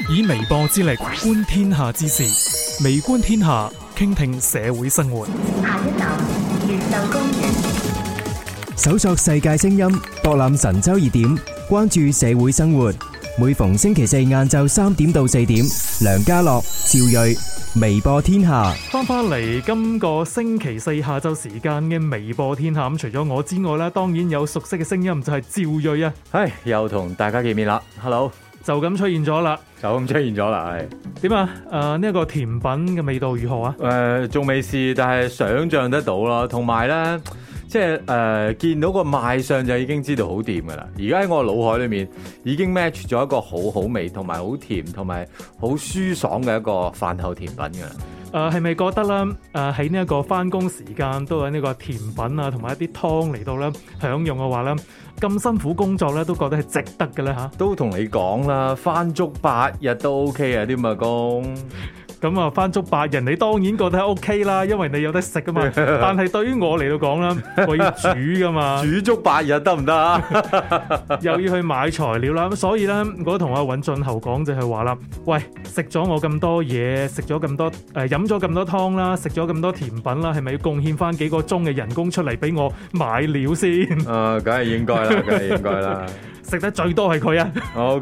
以微博之力觀天下之事，微觀天下，傾聽社會生活。 下一站越秀公園。 搜索世界聲音，博覽神州熱點，關注社會生活。每逢星期四晏晝3點到4點，梁家樂、趙睿，微播天下。 翻嚟今個星期四下晝時間嘅微播天下，咁除咗我之外咧，當然有熟悉嘅聲音就係趙睿啊。 又同大家見面啦 ，Hello， 就咁出現咗啦， 係點啊？呢一個甜品嘅味道如何啊？ 仲未試，但係想像得到啦。同埋咧，即係見到個賣相就已經知道好掂噶啦。而家喺我腦海裏面已經 match 咗一個好好味同埋好甜同埋好舒爽嘅一個飯後甜品噶啦。 係咪覺得啦？喺呢一個翻工時間都有呢個甜品啊，同埋一啲湯嚟到咧享用嘅話咧，咁辛苦工作咧都覺得係值得嘅咧嚇。 都同你講啦，翻足8日都 OK 啊啲咁嘅工。 咁啊，翻足8日，你當然覺得係 OK 啦，因為你有得食噶嘛。但係對於我嚟到講啦，我要煮噶嘛， 煮足8日得唔得啊？ 又要去買材料啦。咁所以咧，我同阿尹俊侯講就係話啦，喂，食咗我咁多嘢，食咗咁多飲咗咁多湯啦，食咗咁多甜品啦，係咪要貢獻翻幾個鐘嘅人工出嚟俾我買料先？ 梗係應該啦。 食得最多係佢啊。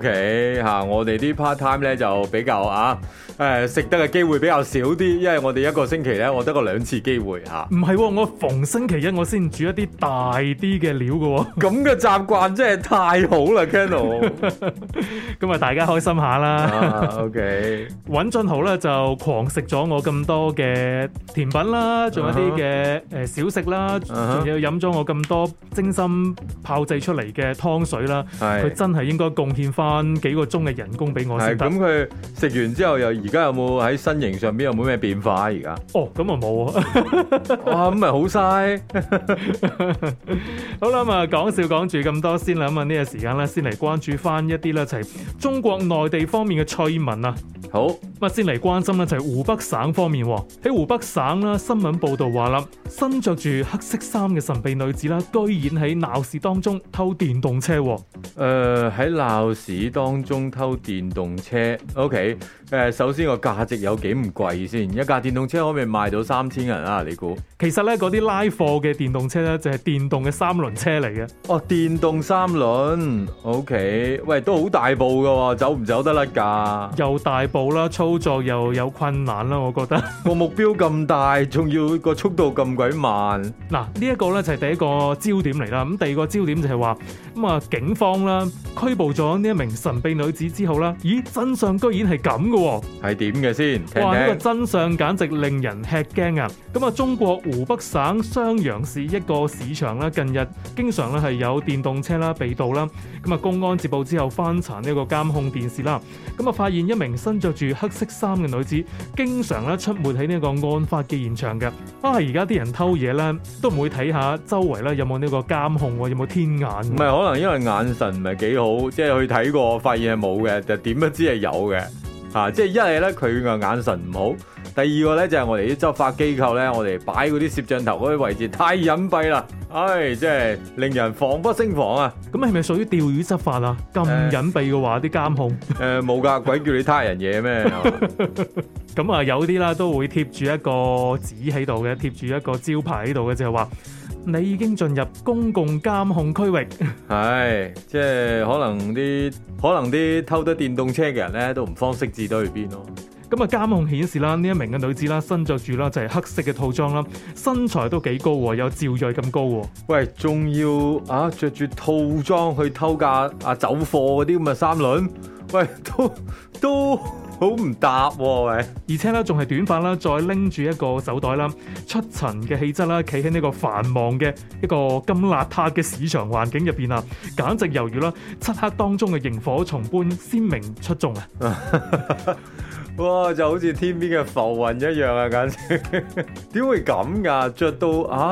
OK 我哋啲 part time 咧就比較食得嘅機會比較少啲，因為我哋一個星期咧我得個2次機會嚇。 唔係，我逢星期一我先煮一啲大啲嘅料嘅。 咁嘅習慣真係太好啦 Kennel。 咁啊，大家開心下啦。 OK。 尹俊豪咧就狂食咗我咁多嘅甜品啦，仲有啲嘅小食啦，仲有飲咗我咁多精心炮製出嚟嘅湯水啦。佢真係應該貢獻翻幾個鐘嘅人工俾我先得。 咁佢食完之後而家有冇喺身形上邊有冇咩變化而家？ 咁啊冇啊。 哇，咁咪好嘥。 好啦，咁啊講笑講住咁多先啦。咁啊呢個時間咧，先嚟關注翻一啲咧就係中國內地方面嘅趣聞啊。 好， 咁啊先嚟關心咧就係湖北省方面。喺湖北省啦，新聞報道話啦，身着住黑色衫嘅神秘女子啦，居然喺鬧市當中偷電動車。 喺鬧市當中偷電動車 ，OK。首先個價值有幾唔貴先？一架電動車可唔可以賣到3000銀啊？你估？ 其實咧，嗰啲拉貨嘅電動車咧，就係電動嘅3輪車嚟嘅。 電動3輪 ，OK。喂，都好大部噶，走唔走得甩㗎？ 又大部啦，操作又有困難啦，我覺得。 個目標咁大，仲要個速度咁鬼慢。 嗱，呢一個咧就係第一個焦點嚟啦。咁第二個焦點就係話，警方啦拘捕咗呢一名神秘女子之後啦，咦，真相居然係咁嘅。 係點嘅先？聽聽。 哇！呢個真相簡直令人吃驚啊！咁啊，中國湖北省襄陽市一個市場啦，近日經常咧係有電動車啦被盜啦。咁啊，公安接報之後翻查呢個監控電視啦，咁啊發現一名身着住黑色衫嘅女子，經常咧出沒喺呢個案發嘅現場嘅。而家啲人偷嘢咧，都唔會睇下周圍咧有冇呢個監控，有冇天眼？ 唔係，可能因為眼神唔係幾好，即係去睇過，發現係冇嘅，就點都知係有嘅。即係一係咧佢個眼神唔好，第二個咧就係我哋啲執法機構咧，我哋擺嗰啲攝像頭嗰啲位置太隱蔽啦，即係令人防不勝防啊！ 咁係咪屬於釣魚執法啊？咁隱蔽嘅話，啲監控冇㗎，鬼叫你他人嘢咩？ 咁啊有啲啦都會貼住一個紙喺度嘅，貼住一個招牌喺度嘅，就係話你已經進入公共監控區域。 即係可能啲偷得電動車嘅人咧都唔方識字都去邊咯。 咁啊，監控顯示啦，呢一名嘅女子啦，身着住啦就係黑色嘅套裝啦，身材都幾高喎，有趙睿咁高喎。 喂，仲要着住套裝去偷架走貨嗰啲咁嘅3輪，喂，都好唔搭喎，喂！ 而且咧仲係短髮啦，再拎住一個手袋啦，出塵嘅氣質啦，企喺呢個繁忙嘅一個咁邋遢嘅市場環境入邊啊，簡直猶如啦漆黑當中嘅螢火蟲般鮮明出眾啊！ 哇，就好似天邊嘅浮雲一樣啊，簡直點會咁㗎？着到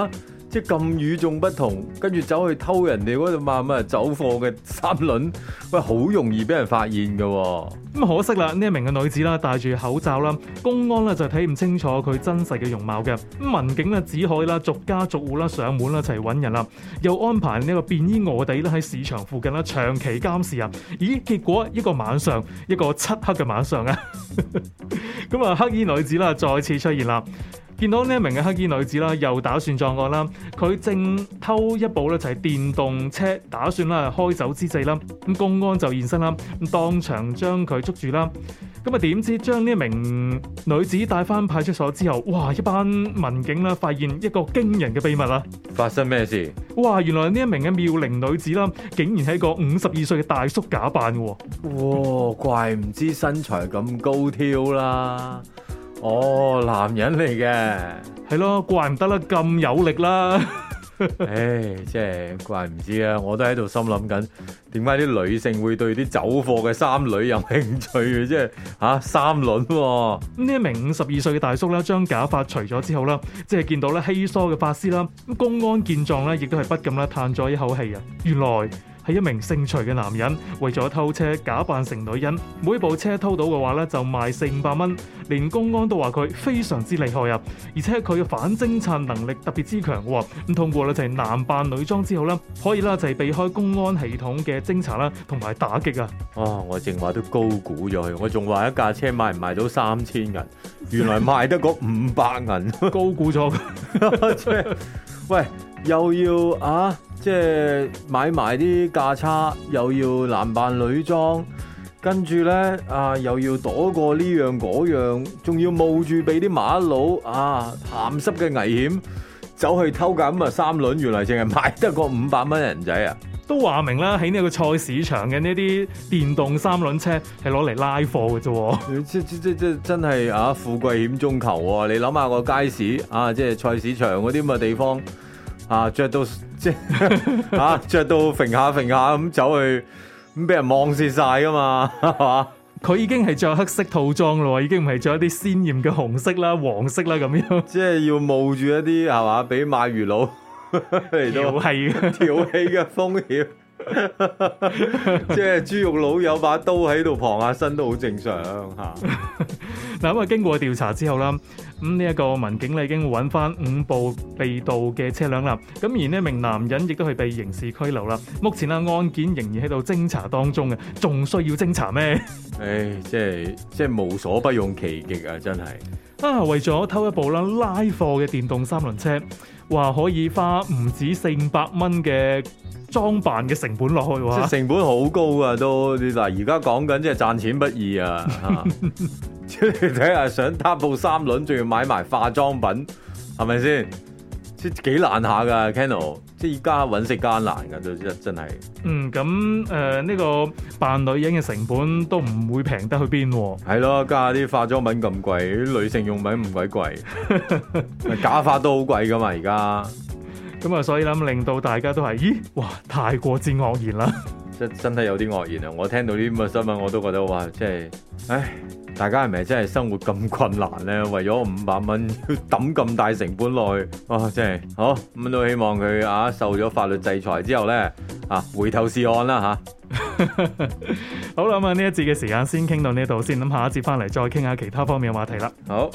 即係咁與眾不同，跟住走去偷人哋嗰度乜走貨嘅三輪，喂，好容易俾人發現㗎喎。 咁可惜啦，呢一名嘅女子啦，戴住口罩啦，公安咧就睇唔清楚佢真實嘅容貌嘅。咁民警咧只可以啦逐家逐戶啦上門啦一齊揾人啦，又安排呢個便衣臥底咧喺市場附近啦長期監視啊。咦，結果一個晚上，一個漆黑嘅晚上啊，咁啊黑衣女子啦再次出現啦。見到呢一名嘅黑衣女子啦，又打算作案啦。佢正偷一部咧就係電動車，打算啦開走之際啦，咁公安就現身啦，咁當場將佢捉住啦。咁啊點知將呢一名女子帶翻派出所之後，哇！一班民警啦發現一個驚人嘅秘密啊！ 發生咩事？ 哇！原來呢一名嘅妙齡女子啦，竟然係一個52歲嘅大叔假扮嘅喎。 哇！怪唔知身材咁高挑啦。哦，男人嚟嘅， 係咯，怪唔得啦，咁有力啦。 唉，即係怪唔知啊！我都喺度心諗緊，點解啲女性會對啲走貨嘅三女有興趣嘅？即係三輪喎。 呢一名52歲嘅大叔啦，將假髮除咗之後啦，即係見到咧稀疏嘅髮絲啦，咁公安見狀咧，亦都係不禁啦嘆咗一口氣啊！原來係一名姓徐嘅男人，為咗偷車假扮成女人，每部車偷到嘅話咧就賣400-500蚊，連公安都話佢非常之厲害啊！而且佢嘅反偵察能力特別之強喎，咁通過咧就係男扮女裝之後咧，可以啦就係避開公安系統嘅偵查啦，同埋打擊啊！ 哦，我正話都高估咗佢，我仲話一架車賣唔賣到3000銀，原來賣得個500銀， 高估咗。 即係喂，又要即係買埋啲價差，又要男扮女裝，跟住咧又要躲過呢樣嗰樣，仲要冒住俾啲馬佬鹹濕嘅危險，走去偷架三輪，原來淨係買得個500蚊人仔啊！ 都話明啦，喺呢個菜市場嘅呢啲電動三輪車係攞嚟拉貨嘅啫。 即真係富貴險中求喎！你諗下個街市即係菜市場嗰啲咁嘅地方着到即係着到揈下咁走去，咁俾人望蝕晒噶嘛，係嘛？ 佢已經係着黑色套裝咯，已經唔係着一啲鮮豔嘅紅色啦、黃色啦咁樣。 即係要冒住一啲係嘛，俾賣魚佬嚟到調戲嘅風險。即係豬肉佬有把刀喺度傍下身都好正常吓。 嗱咁經過調查之後啦，咁呢一個民警咧已經揾翻5部被盜嘅車輛啦。咁而呢一名男人亦都係被刑事拘留啦。目前案件仍然喺度偵查當中嘅，仲需要偵查咩？唉， 即係無所不用其極啊！真係為咗偷一部啦拉貨嘅電動三輪車，話可以花唔止400蚊嘅裝扮嘅成本落去喎， 即係成本好高啊！都你嗱，而家講緊即係賺錢不易啊！即係你睇下，想搭部三輪，仲要買埋化妝品，係咪先？即係幾難下噶 Kennel， 即係而家揾食艱難噶，都真係。 咁呢個扮女人嘅成本都唔會平得去邊喎。 係咯，加啲化妝品咁貴，啲女性用品唔鬼貴，假髮都好貴噶嘛而家。 咁啊，所以諗令到大家都係，咦，哇，太過之愕然啦！ 真係有啲愕然啊！我聽到啲咁嘅新聞，我都覺得哇，即係，唉，大家係咪真係生活咁困難咧？為咗500蚊要抌咁大成本落去，哇，真係好咁都希望佢受咗法律制裁之後咧，回頭是岸啦吓。 好啦，咁呢一節嘅時間先傾到呢度先，咁下一節翻嚟再傾下其他方面嘅話題啦。 好。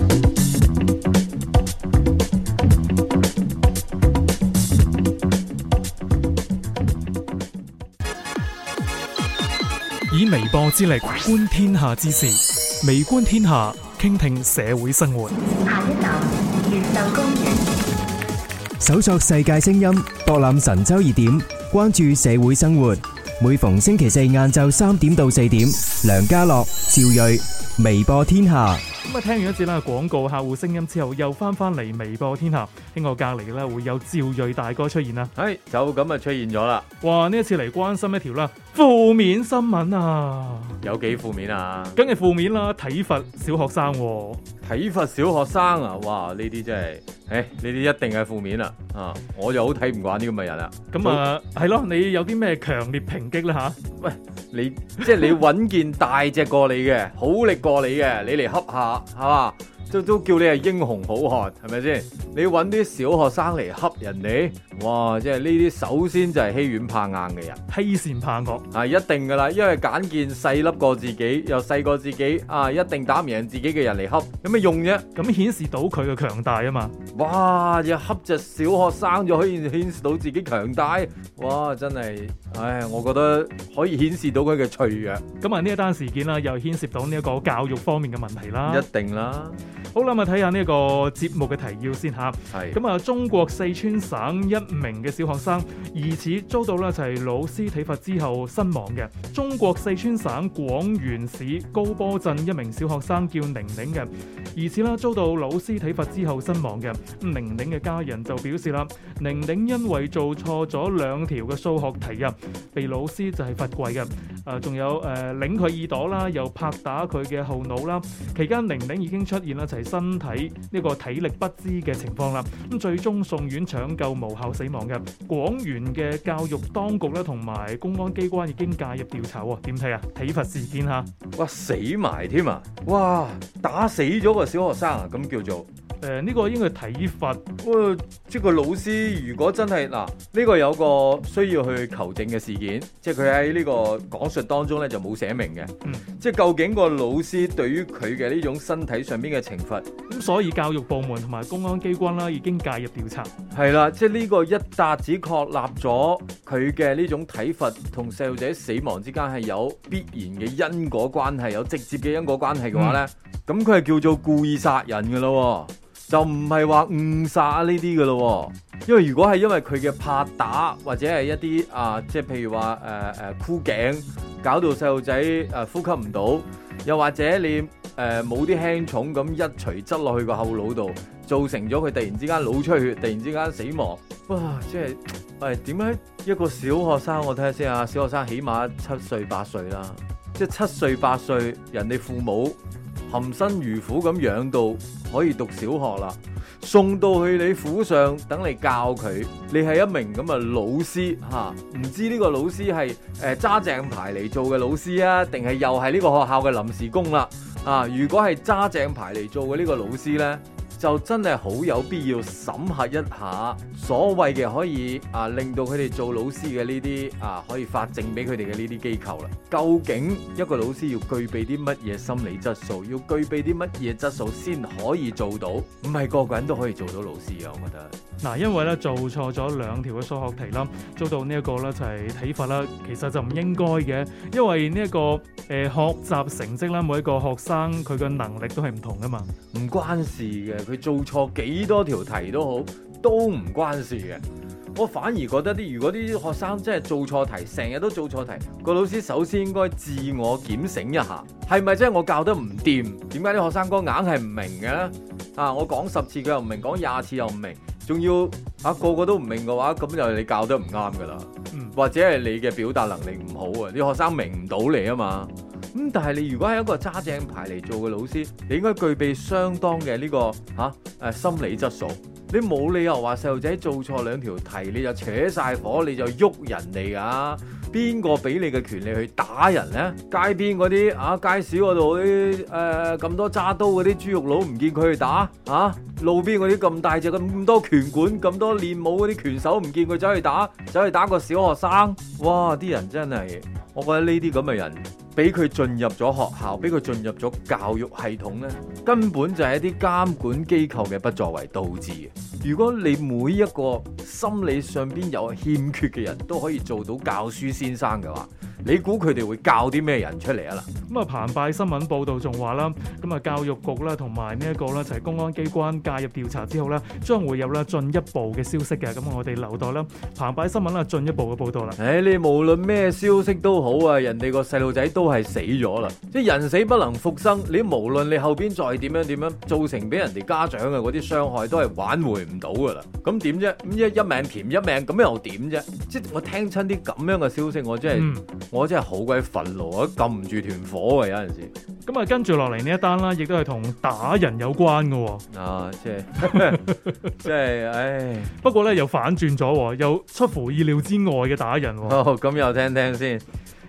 以微播之力觀天下之事，微觀天下，傾聽社會生活。 下一站，越秀公園。 搜索世界聲音，博覽神州熱點，關注社會生活。每逢星期四晏晝3點到4點，梁家樂、趙睿，微播天下。咁聽完一節啦廣告客戶聲音之後，又翻嚟微播天下。喺我隔離咧會有趙睿大哥出現啦。 係就咁啊出現咗啦。 哇！呢一次嚟關心一條啦負面新聞啊。 有幾負面啊？ 梗係負面啦，體罰小學生。 體罰小學生啊！哇！呢啲真係，呢啲一定係負面啦。我就好睇唔慣呢咁嘅人啦。 咁係咯，你有啲咩強烈抨擊咧吓？ 喂，你即係你揾件大隻過你嘅，好力過你嘅，你嚟恰下係嘛？ 都叫你係英雄好漢，係咪先？你揾啲小學生嚟恰人哋，哇！即係呢啲首先就係欺軟怕硬嘅人， 欺善怕惡啊，一定噶啦，因為揀件細粒過自己又細過自己啊，一定打唔贏自己嘅人嚟恰，有咩用啫？ 咁顯示到佢嘅強大啊嘛。 哇！又恰隻小學生就可以顯示到自己強大，哇！真係，唉，我覺得可以顯示到佢嘅脆弱。 咁啊呢一單事件啦，又牽涉到呢一個教育方面嘅問題啦。 一定啦。 好啦，咁啊睇下呢個節目嘅提要先嚇。 係。 咁啊，中國四川省一名嘅小學生疑似遭到咧就係老師體罰之後身亡嘅。中國四川省廣元市高坡鎮一名小學生叫寧寧嘅，疑似啦遭到老師體罰之後身亡嘅。咁寧寧嘅家人就表示啦，寧寧因為做錯咗2條嘅數學題啊，被老師就係罰跪嘅。仲有擰佢耳朵啦，又拍打佢嘅後腦啦。期間寧寧已經出現啦就係身體呢個體力不支嘅情況啦。咁最終送院搶救無效死亡嘅。廣元嘅教育當局咧同埋公安機關已經介入調查喎。點睇啊？體罰事件嚇， 哇死埋添啊！哇打死咗個小學生啊！咁叫做。 呢個應該係體罰。 即係個老師如果真係嗱，呢個有個需要去求證嘅事件，即係佢喺呢個講述當中咧就冇寫明嘅。即係究竟個老師對於佢嘅呢種身體上邊嘅懲罰， 咁所以教育部門同埋公安機關啦已經介入調查。 係啦，即係呢個一笪子確立咗佢嘅呢種體罰同細路仔死亡之間係有必然嘅因果關係，有直接嘅因果關係嘅話咧，咁佢係叫做故意殺人㗎咯。就唔係話誤殺呢啲嘅咯，因為如果係因為佢嘅拍打或者係一啲即係譬如話箍頸，搞到細路仔呼吸唔到，又或者你冇啲輕重咁一錘執落去個後腦度，造成咗佢突然之間腦出血，突然之間死亡，哇！即係點解一個小學生，我睇下先啊，小學生起碼7歲8歲啦，即係7歲8歲，人哋父母含辛茹苦咁養到可以讀小學啦，送到去你府上等你教佢，你係一名咁嘅老師嚇，唔知呢個老師係揸正牌嚟做嘅老師啊，定係又係呢個學校嘅臨時工啦？如果係揸正牌嚟做嘅呢個老師呢，就真係好有必要審核一下所謂嘅可以令到佢哋做老師嘅呢啲可以發證俾佢哋嘅呢啲機構啦。究竟一個老師要具備啲乜嘢心理質素，要具備啲乜嘢質素先可以做到？唔係個個人都可以做到老師啊！我覺得嗱，因為咧做錯咗2條嘅數學題啦，遭到呢一個咧就係體罰啦，其實就唔應該嘅，因為呢一個學習成績啦，每一個學生佢嘅能力都係唔同噶嘛， 唔關事嘅，佢做錯幾多條題都好，都唔關事嘅。我反而覺得如果啲學生真係做錯題，成日都做錯題，個老師首先應該自我檢醒一下，係咪真係我教得唔掂？點解啲學生哥硬係唔明嘅咧？我講10次佢又唔明，講20次又唔明，仲要個個都唔明嘅話，咁就係你教得唔啱噶啦，或者係你嘅表達能力唔好啊，啲學生明唔到你啊嘛。咁但係你如果係一個揸正牌嚟做嘅老師，你應該具備相當嘅呢個心理質素。你冇理由話細路仔做錯2條題你就扯晒火，你就喐人哋㗎？邊個俾你嘅權利去打人呢？街邊嗰啲街市嗰度啲咁多揸刀嗰啲豬肉佬唔見佢去打路邊嗰啲咁大隻咁多拳館咁多練武嗰啲拳手唔見佢走去打個小學生？哇！啲人真係，我覺得呢啲咁嘅人，俾佢進入咗學校，俾佢進入咗教育系統呢，根本就係一啲監管機構嘅不作為導致嘅。如果你每一個心理上邊有欠缺嘅人都可以做到教書先生嘅話，你估佢哋會教啲咩人出嚟啊？ 咁澎湃新聞報道仲話啦，咁教育局啦同埋呢一個咧就係公安機關介入調查之後咧，將會有啦進一步嘅消息嘅。咁我哋留待啦澎湃新聞啦進一步嘅報道啦。 你無論咩消息都好啊，人哋個細路仔都係死咗啦，即係人死不能復生。你無論你後邊再點樣造成俾人哋家長嘅嗰啲傷害，都係挽回唔到噶啦。咁點啫？咁一命填一命，咁又點啫？即係我聽親啲咁樣嘅消息，我真係好鬼憤怒，我撳唔住團火啊！有陣時咁跟住落嚟呢一單啦，亦都係同打人有關嘅。 即係，唉。 不過咧又反轉咗，又出乎意料之外嘅打人。 咁又聽聽先。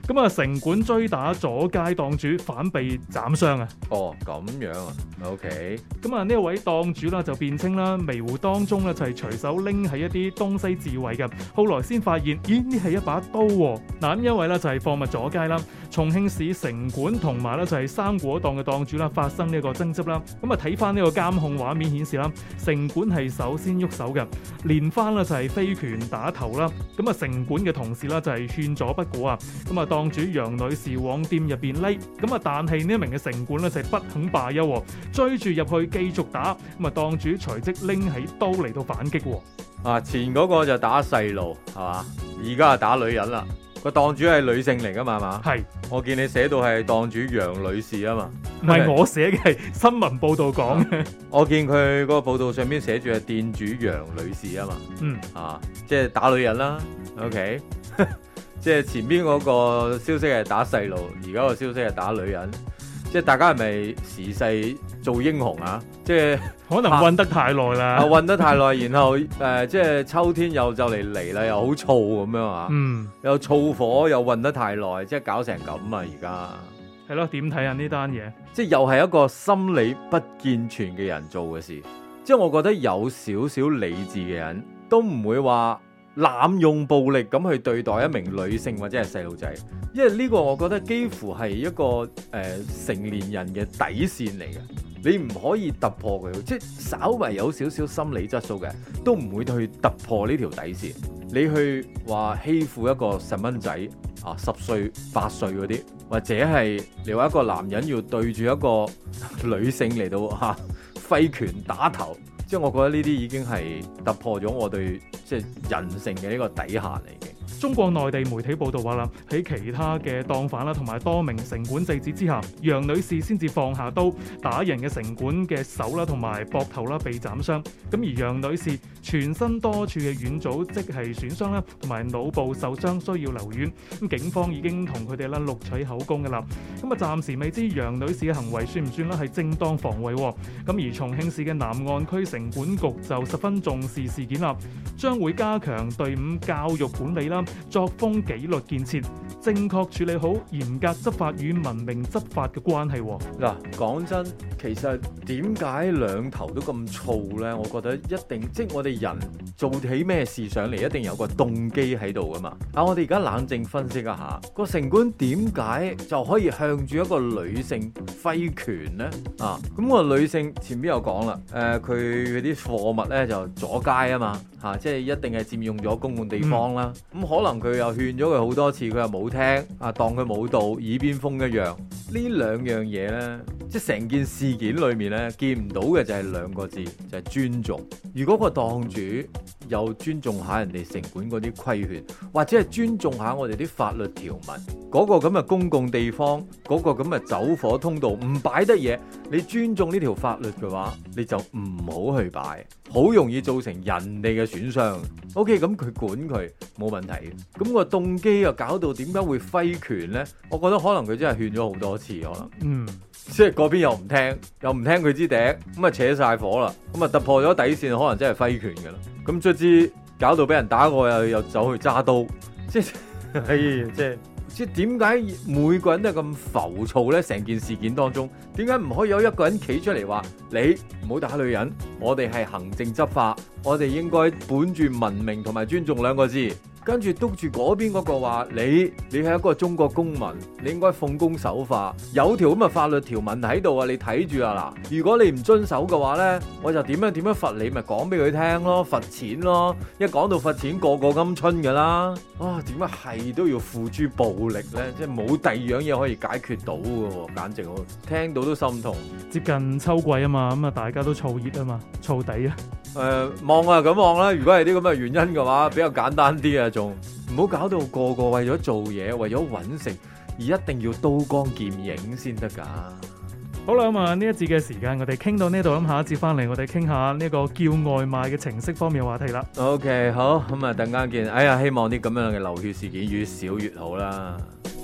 咁啊，城管追打阻街檔主，反被斬傷啊！ 哦，咁樣啊，OK。 咁啊，呢一位檔主啦就辯稱啦，迷糊當中咧就係隨手拎起一啲東西自衞嘅，後來先發現，咦呢係一把刀喎！嗱，咁因為咧就係貨物阻街啦，重慶市城管同埋咧就係生果檔嘅檔主啦發生呢個爭執啦。咁啊睇翻呢個監控畫面顯示啦，城管係首先喐手嘅，連番啦就係飛拳打頭啦。咁啊城管嘅同事啦就係勸阻不果啊。咁啊檔主楊女士往店入邊匿，咁啊但係呢一名嘅城管咧就係不肯罷休，追住入去繼續打。咁啊檔主隨即拎起刀嚟到反擊。 啊，前嗰個就打細路係嘛，而家係打女人啦。個檔主係女性嚟噶嘛？係嘛？ 係。 我見你寫到係檔主楊女士啊嘛。 唔係我寫嘅，係新聞報道講嘅。 我見佢嗰個報道上面寫住係店主楊女士啊嘛。 嗯。 啊，即係打女人啦。OK。即係前邊嗰個消息係打細路，而家個消息係打女人。即係大家係咪時勢做英雄啊？即係可能韞得太耐啦， 韞得太耐，然後即係秋天又就嚟啦，又好燥咁樣啊，又燥火又韞得太耐，即係搞成咁啊！而家係咯，點睇啊呢單嘢？ 即係又係一個心理不健全嘅人做嘅事，即係我覺得有少少理智嘅人都唔會話濫用暴力咁去對待一名女性或者係細路仔，因為呢個我覺得幾乎係一個成年人嘅底線嚟嘅，你唔可以突破佢，即係稍為有少少心理質素嘅都唔會去突破呢條底線。你去話欺負一個細蚊仔啊，10歲8歲嗰啲，或者係你話一個男人要對住一個女性嚟到揮拳打頭。即係我覺得呢啲已經係突破咗我對即係人性嘅呢個底線嚟嘅。 中國內地媒體報道話啦，喺其他嘅檔販啦同埋多名城管制止之下，楊女士先至放下刀，打人嘅城管嘅手啦同埋膊頭啦被斬傷。咁而楊女士全身多處嘅軟組織係損傷啦，同埋腦部受傷需要留院。咁警方已經同佢哋啦錄取口供㗎啦。咁啊暫時未知楊女士嘅行為算唔算啦係正當防衛。咁而重慶市嘅南岸區城管局就十分重視事件啦，將會加強隊伍教育管理啦。作風紀律建設，正確處理好嚴格執法與文明執法嘅關係。 嗱，講真，其實點解兩頭都咁燥呢？我覺得一定，即係我哋人做起咩事上嚟，一定有個動機喺度噶嘛。我哋而家冷靜分析一下，個城管點解就可以向住一個女性揮拳呢？咁個女性前邊有講啦，佢嗰啲貨物呢就阻街啊嘛，即係一定係佔用咗公共地方啦。可能佢又勸咗佢好多次，佢又冇聽，當佢冇到，耳邊風一樣。呢兩樣嘢呢，即係成件事件裏面呢，見唔到嘅就係兩個字，就係尊重。如果個檔主又尊重下人哋城管嗰啲規勸，或者係尊重下我哋啲法律條文，嗰個咁嘅公共地方，嗰個咁嘅走火通道唔擺得嘢，你尊重呢條法律嘅話，你就唔好去擺，好容易造成人哋嘅損傷。OK， 咁佢管佢冇問題。咁個動機又搞到點解會揮拳呢？我覺得可能佢真係勸咗好多次，可能，即係嗰邊又唔聽佢支笛，咁啊扯晒火啦，咁啊突破咗底線，可能真係揮拳噶啦。咁卒之搞到俾人打過，又走去揸刀，即係點解每個人都係咁浮躁呢？成件事件當中，點解唔可以有一個人企出嚟話你唔好打女人？我哋係行政執法，我哋應該本住文明同埋尊重兩個字。跟住督住嗰邊嗰個話，你係一個中國公民，你應該奉公守法，有條咁嘅法律條文喺度啊！你睇住啊嗱，如果你唔遵守嘅話呢，我就點樣罰你，咪講俾佢聽咯，罰錢咯。一講到罰錢，個個鵪鶉噶啦。點解係都要付諸暴力呢？即係冇第二樣嘢可以解決到嘅，簡直我聽到都心痛。 接近秋季啊嘛，咁啊大家都燥熱啊嘛，燥底啊。 望啊咁望啦。如果係啲咁嘅原因嘅話，比較簡單啲啊，仲唔好搞到個個為咗做嘢，為咗揾食而一定要刀光劍影先得㗎。 好啦，咁啊呢一節嘅時間我哋傾到呢度，咁下一節翻嚟我哋傾下呢個叫外賣嘅程式方面嘅話題啦。 OK， 好，咁啊等間見。希望啲咁樣嘅流血事件越少越好啦。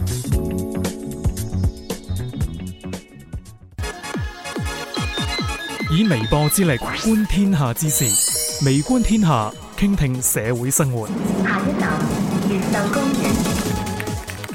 以微播之力觀天下之事，微觀天下，傾聽社會生活。 下一站越秀公園。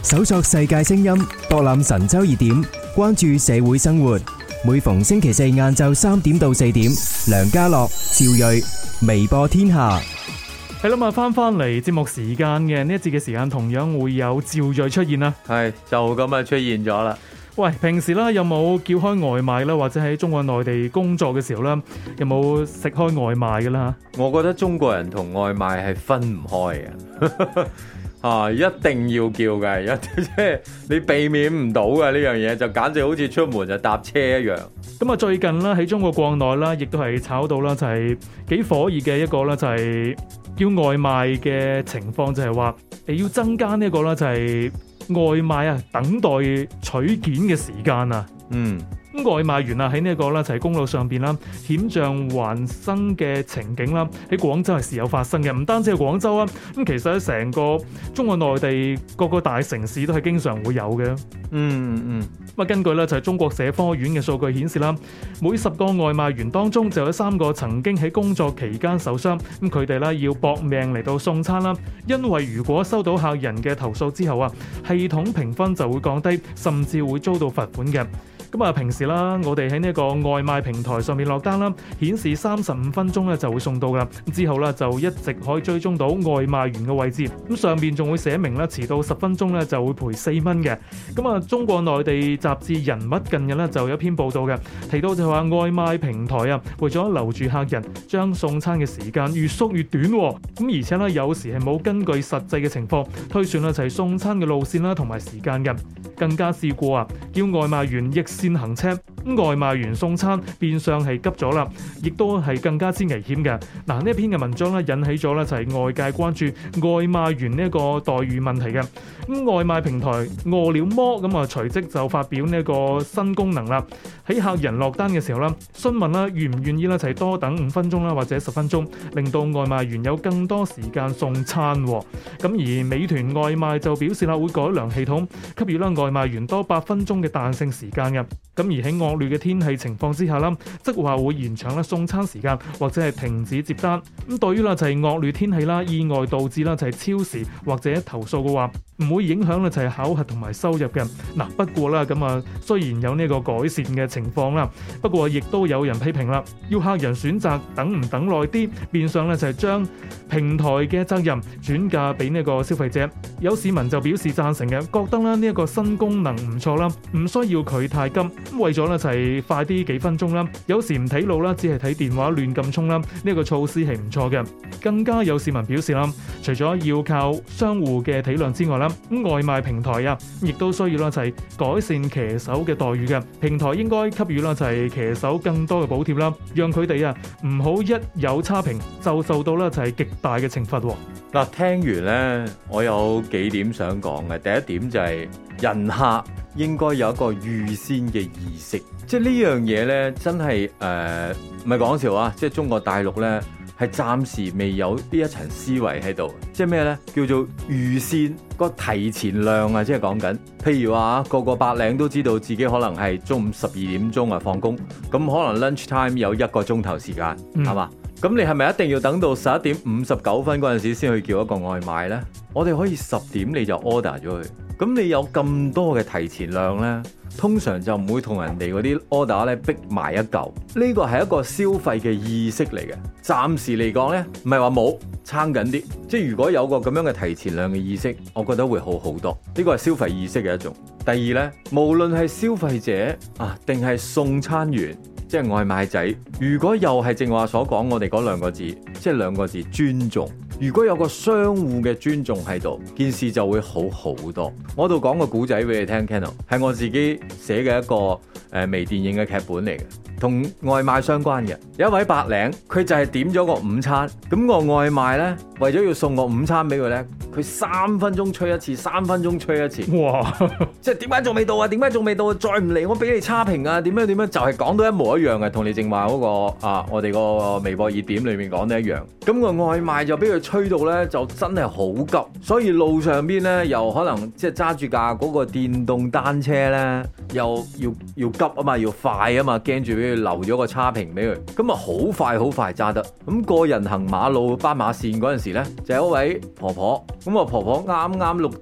搜索世界聲音，博覽神州熱點，關注社會生活。每逢星期四晏晝3點到4點，梁家樂、趙睿，微播天下。 係啦，翻嚟節目時間嘅呢一節嘅時間，同樣會有趙睿出現啦。 係就咁啊，出現咗啦。 喂，平時啦有冇叫開外賣啦，或者喺中國內地工作嘅時候啦，有冇食開外賣㗎啦？ 我覺得中國人同外賣係分唔開嘅。一定要叫嘅，即係你避免唔到嘅呢樣嘢，就簡直好似出門就搭車一樣。 咁啊，最近啦喺中國國內啦，亦都係炒到啦，就係幾火熱嘅一個啦，就係叫外賣嘅情況，就係話要增加呢一個啦，就係外賣啊等待取件嘅時間啊。咁外賣員啊喺呢一個啦就係公路上邊啦險象環生嘅情景啦，喺廣州係時有發生嘅，唔單止係廣州啊，咁其實喺成個中國內地各個大城市都係經常會有嘅。咁根據咧就係中國社科院嘅數據顯示啦，每10個外賣員當中就有3個曾經喺工作期間受傷，咁佢哋咧要搏命嚟到送餐啦，因為如果收到客人嘅投訴之後啊，系統評分就會降低，甚至會遭到罰款嘅。咁啊，平時啦，我哋喺呢一個外賣平台上面落單啦，顯示35分鐘咧就會送到噶，之後咧就一直可以追蹤到外賣員嘅位置。咁上邊仲會寫明咧，遲到10分鐘咧就會賠4蚊嘅。咁啊，中國內地雜誌人物近日咧就有一篇報道嘅，提到就話外賣平台啊，為咗留住客人，將送餐嘅時間越縮越短。咁而且咧有時係冇根據實際嘅情況推算啦，就係送餐嘅路線啦同埋時間嘅。更加試過啊，叫外賣員逆線行車，外賣員送餐變相係急咗啦，亦都係更加之危險嘅。嗱，呢一篇嘅文章咧引起咗咧就係外界關注外賣員呢一個待遇問題嘅。咁外賣平台餓了麼咁啊隨即就發表呢一個新功能啦，喺客人落單嘅時候啦，詢問啦願唔願意啦，就係多等5分鐘啦或者10分鐘，令到外賣員有更多時間送餐。咁而美團外賣就表示啦，會改良系統，給予啦外賣員多8分鐘嘅彈性時間嘅。咁而喺惡劣嘅天氣情況之下啦，即話會延長啦送餐時間或者係停止接單。咁對於啦就係惡劣天氣啦，意外導致啦就係超時或者投訴嘅話，唔會影響咧就係考核同埋收入嘅。嗱，不過啦咁啊，雖然有呢個改善嘅情況啦，不過亦都有人批評啦，要客人選擇等唔等耐啲，變相咧就係將平台嘅責任轉嫁俾呢個消費者。有市民就表示贊成嘅，覺得啦呢一個新功能唔錯啦，唔需要佢太急，為咗咧就係快啲幾分鐘啦。有時唔睇路啦，只係睇電話亂撳充啦，呢個措施係唔錯嘅。更加有市民表示啦，除咗要靠商戶嘅體諒之外啦，外賣平台啊，亦都需要啦就係改善騎手嘅待遇嘅。平台應該給予啦就係騎手更多嘅補貼啦，讓佢哋啊唔好一有差評就受到啦就係極大嘅懲罰。 嗱，聽完呢，我有幾點想講嘅。第一點就係人客應該有一個預先嘅意識，即係呢樣嘢呢，真係唔係講笑啊！即係中國大陸呢，係暫時未有呢一層思維喺度，即係咩呢？叫做預先個提前量啊！即係講緊，譬如話個個白領都知道自己可能係中午12點鐘啊放工，咁可能 lunch time 有1個鐘頭時間，係嘛？咁你係咪一定要等到11點59分嗰陣時先去叫一個外賣呢？我哋可以10點你就 order 咗佢，咁你有咁多嘅提前量呢，通常就唔會同人哋嗰啲 order 咧逼埋一嚿。呢個係一個消費嘅意識嚟嘅。暫時嚟講呢，唔係話冇撐緊啲，即係如果有個咁樣嘅提前量嘅意識，我覺得會好好多。呢個係消費意識嘅一種。第二呢，無論係消費者啊，定係送餐員，即係外賣仔，如果又係正話所講我哋嗰2個字，即係2個字尊重。如果有個相互嘅尊重喺度，件事就會好好多。我度講個故仔俾你聽 Kennel 係我自己寫嘅一個微電影嘅劇本嚟嘅，同外賣相關嘅。有一位白領，佢就係點咗個午餐，咁個外賣呢，為咗要送個午餐俾佢呢，佢3分鐘催一次，3分鐘催一次。哇！即係點解仲未到啊？點解仲未到啊？再唔嚟我俾你差評啊！點樣點樣，就係講到一模一樣嘅，同你正話嗰個我哋個微博熱點裏面講得一樣。咁個外賣就俾佢吹到呢，就真係好急，所以路上邊呢，又可能即係揸住架嗰個電動單車呢，又要急啊嘛，要快啊嘛，驚住俾佢留咗個差評俾佢，咁啊好快揸得。咁過人行馬路斑馬線嗰陣時呢，就有一位婆婆，咁啊婆婆啱綠燈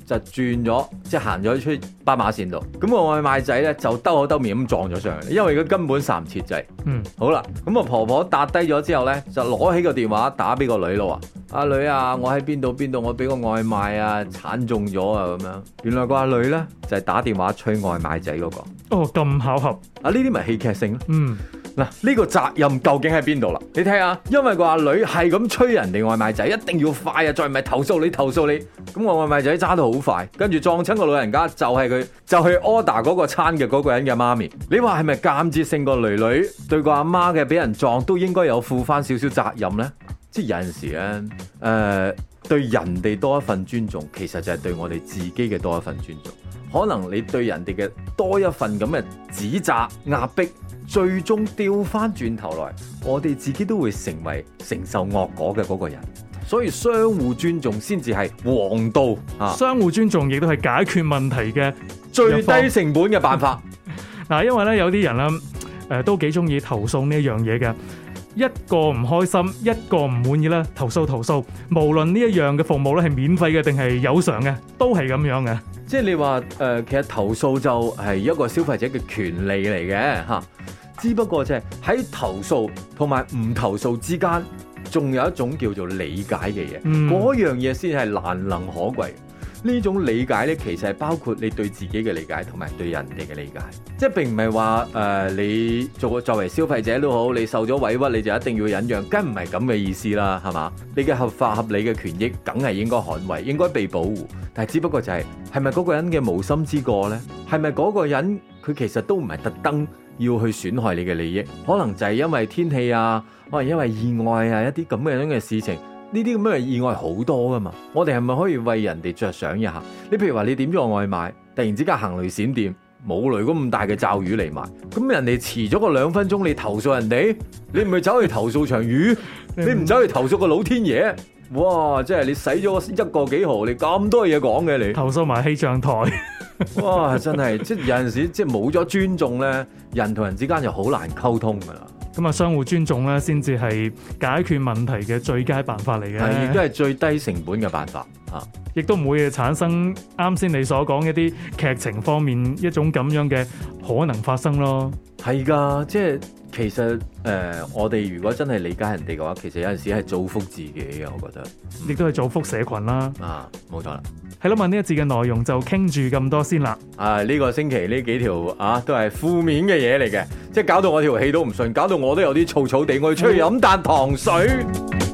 就轉咗，即係行咗出斑馬線度。咁個外賣仔咧就兜口兜面咁撞咗上嚟，因為佢根本剎唔切掣。好啦，咁啊婆婆搭低咗之後咧，就攞起個電話打俾個女咯，話阿女啊，我喺邊度，我俾個外賣啊鏟中咗啊咁樣。原來個阿女咧就係打電話催外賣仔嗰個。 哦，咁巧合啊！呢啲咪戲劇性咯。嗱，呢個責任究竟喺邊度啦？你睇下，因為個阿女係咁催人哋外賣仔，一定要快啊！再唔係投訴你。咁個外賣仔揸到好快，跟住撞親個老人家，就係佢就去 order 嗰個餐嘅嗰個人嘅媽咪。你話係咪間接性個女女對個阿媽嘅俾人撞都應該有負翻少少責任呢？即係有陣時咧，對人哋多一份尊重，其實就係對我哋自己嘅多一份尊重。可能你對人哋嘅多一份咁嘅指責、壓迫，最終掉翻轉頭來，我哋自己都會成為承受惡果嘅嗰個人。所以相互尊重先至係王道啊！ 相互尊重亦都係解決問題嘅最低成本嘅辦法。 嗱，因為咧有啲人啦，都幾中意投訴呢一樣嘢嘅。一個唔開心，一個唔滿意啦，投訴。無論呢一樣嘅服務咧係免費嘅定係有償嘅，都係咁樣嘅。 即係你話其實投訴就係一個消費者嘅權利嚟嘅嚇，只不過就係喺投訴同埋唔投訴之間，仲有一種叫做理解嘅嘢，嗰樣嘢先係難能可貴。呢種理解咧，其實係包括你對自己嘅理解同埋對人哋嘅理解，即係並唔係話你作為消費者都好，你受咗委屈你就一定要忍讓，梗唔係咁嘅意思啦，係嘛？你嘅合法合理嘅權益，梗係應該捍衛，應該被保護。但係只不過就係咪嗰個人嘅無心之過呢？係咪嗰個人佢其實都唔係特登要去損害你嘅利益？可能就係因為天氣啊，可能因為意外啊，一啲咁樣嘅事情。呢啲咁嘅意外好多噶嘛，我哋係咪可以為人哋着想一下？你譬如話你點咗個外賣，突然之間行雷閃電，冇雷咁大嘅驟雨嚟埋，咁人哋遲咗個2分鐘，你投訴人哋，你唔係走去投訴場雨，你唔走去投訴個老天爺，哇！即係你使咗1個幾毫，你咁多嘢講嘅你， 投訴埋氣象台， 哇！真係即係有陣時即係冇咗尊重咧，人同人之間就好難溝通噶啦。 咁啊，相互尊重咧，先至係解決問題嘅最佳辦法嚟嘅， 係亦都係最低成本嘅辦法嚇， 亦都唔會產生啱先你所講一啲劇情方面一種咁樣嘅可能發生咯。係㗎，即係其實我哋如果真係理解人哋嘅話，其實有陣時係造福自己嘅，我覺得， 亦都係造福社群啦。 啊，冇錯啦。 係咯，問呢一節嘅內容就傾住咁多先啦。 呢個星期呢幾條都係負面嘅嘢嚟嘅，即係搞到我條氣都唔順，搞到我都有啲燥燥地，我要出去飲啖糖水。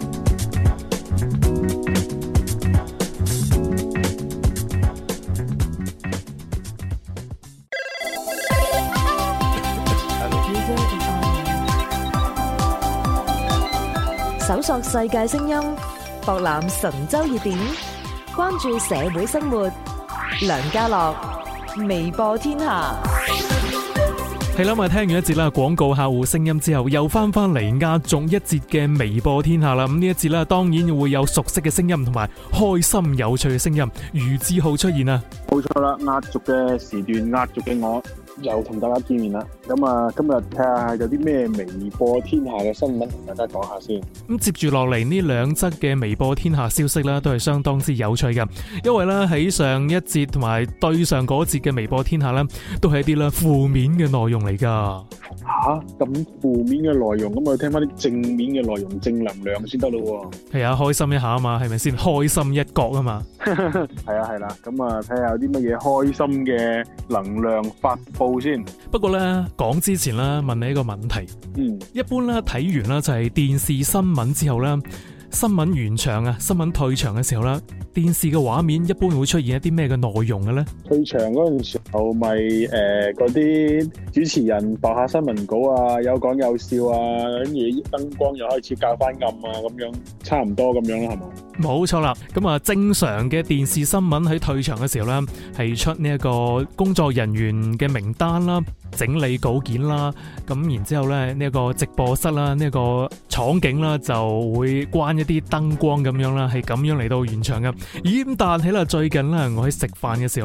搜索世界聲音，博覽神州熱點，關注社會生活。梁家樂，微播天下。 係啦，聽完一節啦廣告客戶聲音之後，又翻嚟壓軸一節嘅微播天下啦。咁呢一節啦，當然會有熟悉嘅聲音同埋開心有趣嘅聲音，余志浩出現啊！ 冇錯啦，壓軸嘅時段，壓軸嘅我又同大家見面啦。咁啊，今日睇下有啲咩微播天下嘅新聞同大家講下先。咁接住落嚟呢兩則嘅微播天下消息啦，都係相當之有趣嘅，因為咧喺上一節同埋對上嗰節嘅微播天下咧，都係一啲啦負面嘅內容嚟噶。 咁負面嘅內容，咁我聽翻啲正面嘅內容，正能量先得咯。 係啊，開心一下啊嘛，係咪先？開心一角啊嘛。 係啦，咁啊睇下有啲乜嘢開心嘅能量發布先。 不過咧講之前啦，問你一個問題。一般咧睇完啦就係電視新聞之後啦，新聞完場啊，新聞退場嘅時候啦，電視嘅畫面一般會出現一啲咩嘅內容嘅咧？退場嗰陣時候咪嗰啲主持人播下新聞稿啊，有講有笑啊，跟住燈光又開始較翻暗啊，咁樣差唔多咁樣啦，係嘛？ 冇錯啦，咁啊正常嘅電視新聞喺退場嘅時候咧，係出呢一個工作人員嘅名單啦，整理稿件啦，咁然之後咧呢一個直播室啦，呢一個場景啦就會關一啲燈光咁樣啦，係咁樣嚟到現場嘅。咦，但係啦最近咧我喺食飯嘅時候啦，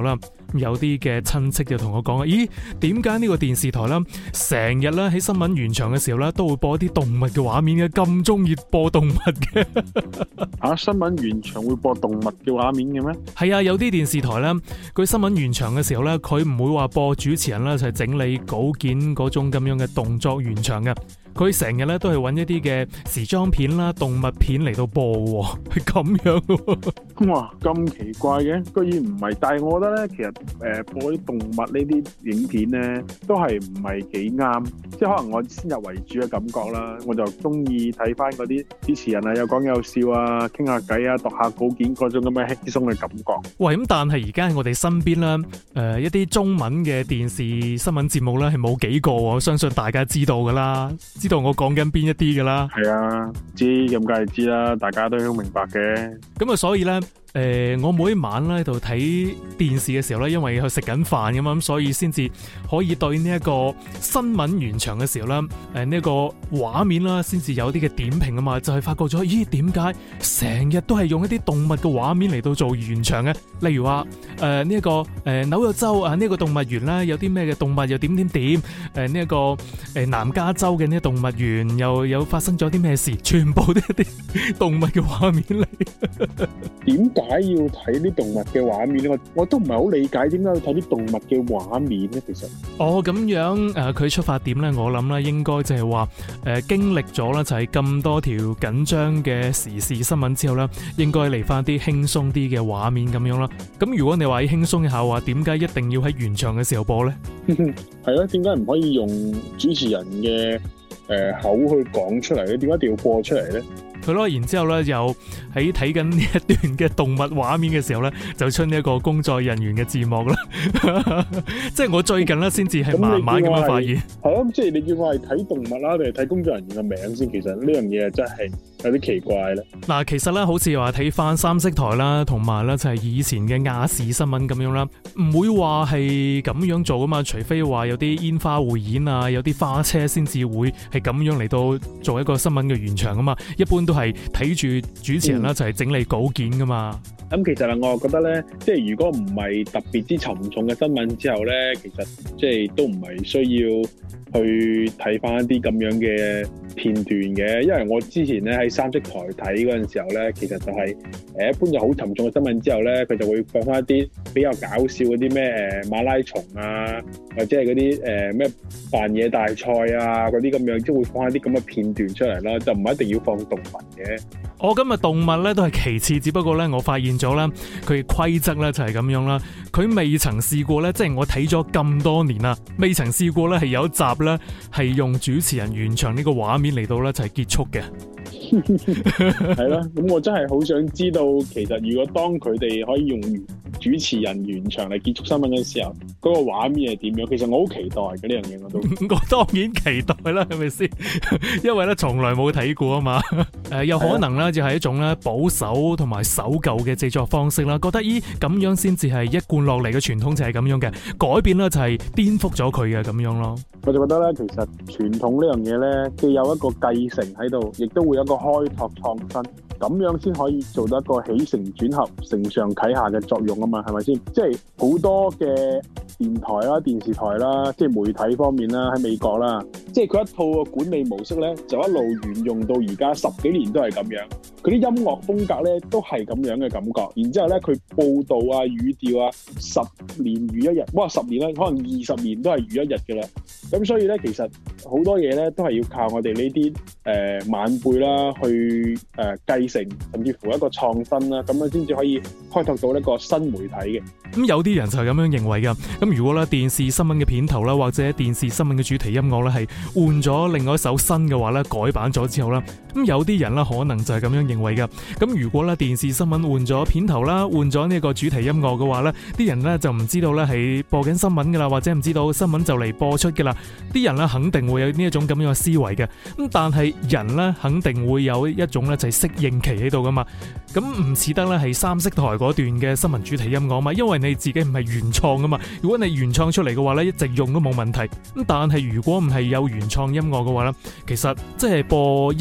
有啲嘅親戚就同我講啊，咦，點解呢個電視台啦，成日咧喺新聞完場嘅時候咧，都會播啲動物嘅畫面嘅，咁中意播動物嘅？ 新聞完場會播動物嘅畫面嘅咩？ 係啊，有啲電視台咧，佢新聞完場嘅時候咧，佢唔會話播主持人啦，就係整理稿件嗰種咁樣嘅動作完場嘅。佢成日咧都係揾一啲嘅時裝片啦、動物片嚟到播喎，係咁樣喎。 哇，咁奇怪嘅，居然唔係。但係我覺得咧，其實播啲動物呢啲影片咧，都係唔係幾啱。即係可能我先入為主嘅感覺啦，我就中意睇翻嗰啲主持人啊，有講有笑啊，傾下偈啊，讀下稿件嗰種咁嘅輕鬆嘅感覺。 喂，咁但係而家喺我哋身邊啦，一啲中文嘅電視新聞節目咧係冇幾個，我相信大家知道噶啦，知道我講緊邊一啲噶啦。 係啊，知咁梗係知啦，大家都好明白嘅。 咁啊，所以咧。我每一晚咧喺度睇電視嘅時候咧，因為佢食緊飯㗎嘛，咁所以先至可以對呢一個新聞完場嘅時候啦，呢一個畫面啦，先至有啲嘅點評啊嘛，就係發覺咗，咦，點解成日都係用一啲動物嘅畫面嚟到做完場嘅？例如話呢一個紐約州啊，呢個動物園啦，有啲咩嘅動物又點點點，呢一個南加州嘅呢個動物園又有發生咗啲咩事，全部都係一啲動物嘅畫面嚟。 點解要睇啲動物嘅畫面咧？我都唔係好理解點解要睇啲動物嘅畫面咧。其實咁樣佢出發點咧，我諗咧應該就係話經歷咗啦，就係咁多條緊張嘅時事新聞之後咧，應該嚟翻啲輕鬆啲嘅畫面咁樣啦。咁如果你話要輕鬆一下話，點解一定要喺完場嘅時候播咧？ 係咯，點解唔可以用主持人嘅口去講出嚟咧？點解一定要播出嚟咧？ 佢咯，然之後咧，又喺睇緊呢一段嘅動物畫面嘅時候咧，就出呢一個工作人員嘅字幕啦。即係我最近咧，先至係慢慢咁樣發現。 係咯，即係你叫我係睇動物啦，定係睇工作人員嘅名先？其實呢樣嘢真係有啲奇怪咧。嗱， 其實咧，好似話睇翻三色台啦，同埋咧就係以前嘅亞視新聞咁樣啦，唔會話係咁樣做噶嘛，除非話有啲煙花匯演啊，有啲花車先至會係咁樣嚟到做一個新聞嘅完場噶嘛，一般都係睇住主持人啦，就係整理稿件噶嘛。 咁其實我覺得咧，即係如果唔係特別之沉重嘅新聞之後咧，其實即係都唔係需要去睇翻一啲咁樣嘅片段嘅，因為我之前咧喺三色台睇嗰陣時候咧，其實就係一般就好沉重嘅新聞之後咧，佢就會放翻一啲比較搞笑嗰啲咩馬拉松啊，或者係嗰啲咩扮嘢大賽啊嗰啲咁樣，即係會放一啲咁嘅片段出嚟啦，就唔一定要放動物嘅。 我今日動物咧都係其次，只不過咧我發現咗咧佢嘅規則咧就係咁樣啦，佢未曾試過咧，即係我睇咗咁多年啦，未曾試過咧係有一集咧係用主持人完場呢個畫面嚟到咧就係結束嘅。 係啦，咁我真係好想知道，其實如果當佢哋可以用主持人完場嚟結束新聞嘅時候，嗰個畫面係點樣？其實我好期待嘅呢樣嘢，我都我當然期待啦，係咪先？因為咧從來冇睇過啊嘛。有可能咧就係一種咧保守同埋守舊嘅製作方式啦，覺得咁樣先至係一貫落嚟嘅傳統就係咁樣嘅，改變咧就係顛覆咗佢嘅咁樣咯。 我就覺得咧，其實傳統呢樣嘢咧，既有一個繼承喺度，亦都會有一個開拓創新，咁樣先可以做到一個起承轉合、承上啟下嘅作用啊嘛，係咪先？即係好多嘅電台啦、電視台啦，即係媒體方面啦，喺美國啦，即係佢一套嘅管理模式咧，就一路沿用到而家10幾年都係咁樣。佢啲音樂風格咧都係咁樣嘅感覺，然之後咧佢報導啊、語調啊，10年如一日，哇10年咧，可能20年都係如一日嘅啦。咁所以咧，其實好多嘢咧都係要靠我哋呢啲晚輩啦去繼承，甚至乎一個創新啦，咁樣先至可以開拓到一個新媒體嘅。 咁有啲人就係咁樣認為㗎。咁如果咧電視新聞嘅片頭啦，或者電視新聞嘅主題音樂咧係換咗另外一首新嘅話咧，改版咗之後啦，咁有啲人咧可能就係咁樣認為㗎。咁如果咧電視新聞換咗片頭啦，換咗呢個主題音樂嘅話咧，啲人咧就唔知道咧係播緊新聞㗎啦，或者唔知道新聞就嚟播出㗎啦。啲人咧肯定會有呢一種咁樣嘅思維嘅。咁但係人咧肯定會有一種咧就係適應期喺度㗎嘛。咁唔似得咧係三色台嗰段嘅新聞主題音樂嘛，因為你自己唔係原創㗎嘛。如果你原創出嚟嘅話咧，一直用都冇問題。咁但係如果唔係有原創音樂嘅話咧，其實即係播1-2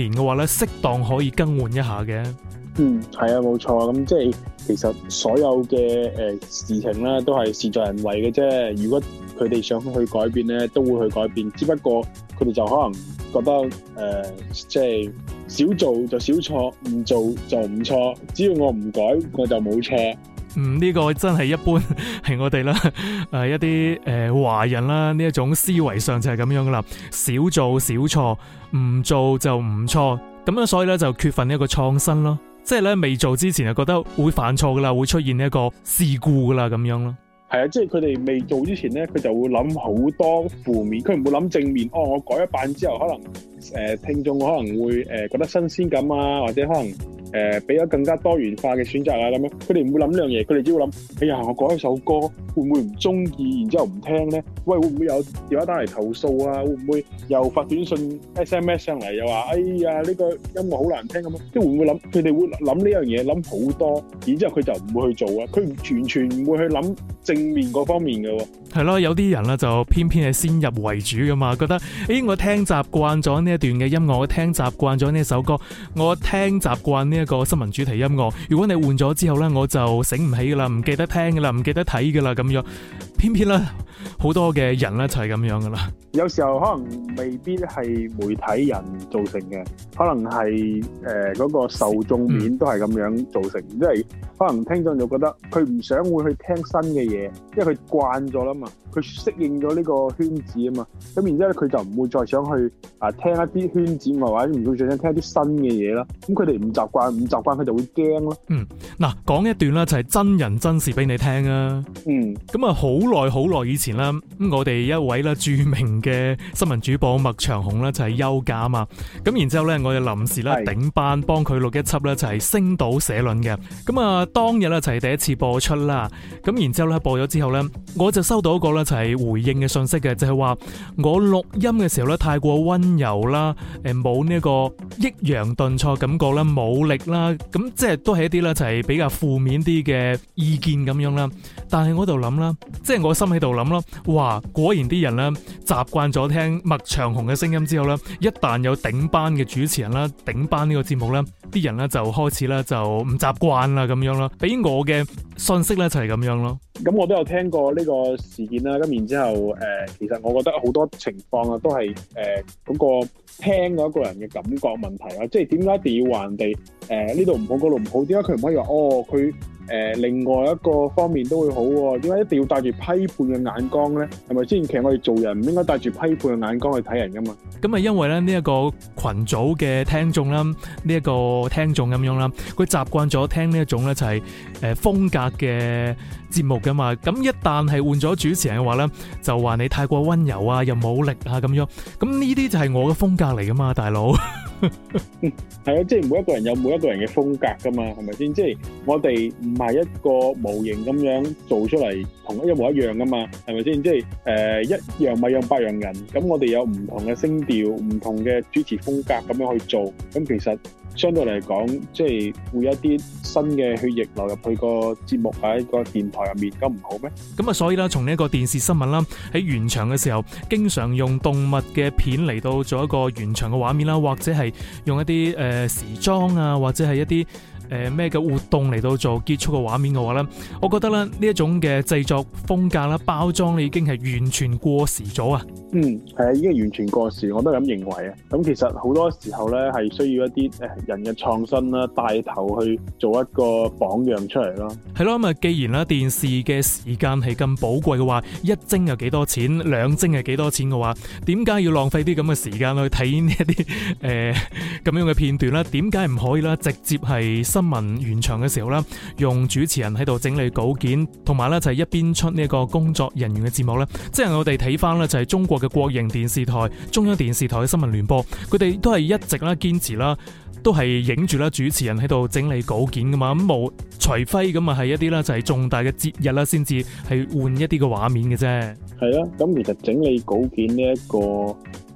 年嘅話咧，適當可以更換一下嘅。 係啊，冇錯。咁即係其實所有嘅事情咧，都係事在人為嘅啫。如果佢哋想去改變咧，都會去改變。只不過佢哋就可能覺得即係少做就少錯，唔做就唔錯。只要我唔改，我就冇錯。 呢個真係一般係我哋啦，一啲華人啦，呢一種思維上就係咁樣噶啦，少做少錯，唔做就唔錯，咁樣所以咧就缺乏呢一個創新咯，即係咧未做之前就覺得會犯錯噶啦，會出現呢一個事故噶啦咁樣咯。 係啊，即係佢哋未做之前咧，佢就會諗好多負面，佢唔會諗正面。我改一版之後，可能聽眾可能會覺得新鮮感啊，或者可能俾咗更加多元化嘅選擇啊咁樣。佢哋唔會諗呢樣嘢，佢哋只會諗：哎呀，我改一首歌會唔會唔中意，然之後唔聽咧？喂，會唔會有電話打嚟投訴啊？會唔會又發短信 SMS 上嚟又話：哎呀，呢個音樂好難聽咁樣？即係會唔會諗？佢哋會諗呢樣嘢，諗好多，然之後佢就唔會去做啊。佢完全唔會去諗正面嗰方面嘅喎。 係咯，有啲人咧就偏偏係先入為主噶嘛，覺得我聽習慣咗呢一段嘅音樂，我聽習慣咗呢首歌，我聽習慣呢一個新聞主題音樂。如果你換咗之後咧，我就醒唔起噶啦，唔記得聽噶啦，唔記得睇噶啦咁樣。偏偏咧好多嘅人咧就係咁樣噶啦。 有時候可能未必係媒體人造成嘅，可能係嗰個受眾面都係咁樣造成，即係可能聽眾就覺得佢唔想會去聽新嘅嘢，因為佢慣咗啦嘛，佢適應咗呢個圈子啊嘛，咁然之後佢就唔會再想去聽一啲圈子外或者唔會再想聽一啲新嘅嘢啦。咁佢哋唔習慣佢就會驚咯。 嗱，講一段啦，就係真人真事俾你聽啊。咁啊，好耐以前啦，咁我哋一位啦著名嘅新聞主播麥長虹咧就係休假啊嘛，咁然之後咧我哋臨時咧頂班幫佢錄一輯咧就係星島社論嘅，咁啊當日咧就係第一次播出啦，咁然之後咧播咗之後咧，我就收到一個咧就係回應嘅信息嘅，就係話我錄音嘅時候咧太過溫柔啦，冇呢個抑揚頓挫感覺啦，冇力啦，咁即係都係一啲咧就係比較負面啲嘅意見咁樣啦，但係我度諗啦，即係我心喺度諗啦，哇，果然啲人咧習慣咗聽麥長虹嘅聲音之後咧，一旦有頂班嘅主持人啦，頂班呢個節目咧，啲人咧就開始咧就唔習慣啦咁樣啦，俾我嘅信息咧就係咁樣咯。 咁我都有聽過呢個事件啦，咁然之後其實我覺得好多情況啊，都係嗰個聽嗰個人嘅感覺問題啊，即係點解一定要話人哋呢度唔好嗰度唔好？點解佢唔可以話佢另外一個方面都會好喎？點解一定要帶住批判嘅眼光咧？係咪先？其實我哋做人唔應該帶住批判嘅眼光去睇人噶嘛。咁啊，因為咧呢一個群組嘅聽眾啦，呢一個聽眾咁樣啦，佢習慣咗聽呢一種咧就係風格嘅節目噶嘛。咁一旦係換咗主持人嘅話咧，就話你太過溫柔啊，又冇力啊咁樣。咁呢啲就係我嘅風格嚟噶嘛，大佬。 係啊，即係每一個人有每一個人嘅風格噶嘛，係咪先？即係我哋唔係一個模型咁樣做出嚟，同一模一樣噶嘛，係咪先？即係一樣米養百樣人，咁我哋有唔同嘅聲調、唔同嘅主持風格咁樣去做，咁其實相對嚟講，即係會有一啲新嘅血液流入去個節目喺個電台入面，咁唔好咩？咁啊， 所以啦，從呢一個電視新聞啦，喺原場嘅時候，經常用動物嘅片嚟到做一個原場嘅畫面啦，或者係用一啲時裝啊，或者係一啲咩嘅活動嚟到做結束嘅畫面嘅話咧，我覺得咧呢一種嘅製作風格啦、包裝咧已經係完全過時咗啊！ 係啊，已經完全過時，我都係咁認為啊。咁其實好多時候咧係需要一啲人嘅創新啦，帶頭去做一個榜樣出嚟咯。 係咯，咁啊，既然啦電視嘅時間係咁寶貴嘅話，一幀有幾多錢，兩幀係幾多錢嘅話，點解要浪費啲咁嘅時間去睇呢一啲咁樣嘅片段咧？點解唔可以啦？直接係新聞原場嘅時候啦，用主持人喺度整理稿件，同埋咧就係一邊出呢個工作人員嘅節目咧，即係我哋睇翻咧就係中國嘅國營電視台、中央電視台嘅新聞聯播，佢哋都係一直啦堅持啦，都係影住啦主持人喺度整理稿件噶嘛，咁冇除非咁啊係一啲啦就係重大嘅節日啦，先至係換一啲嘅畫面嘅啫。 係啊，咁其實整理稿件呢一個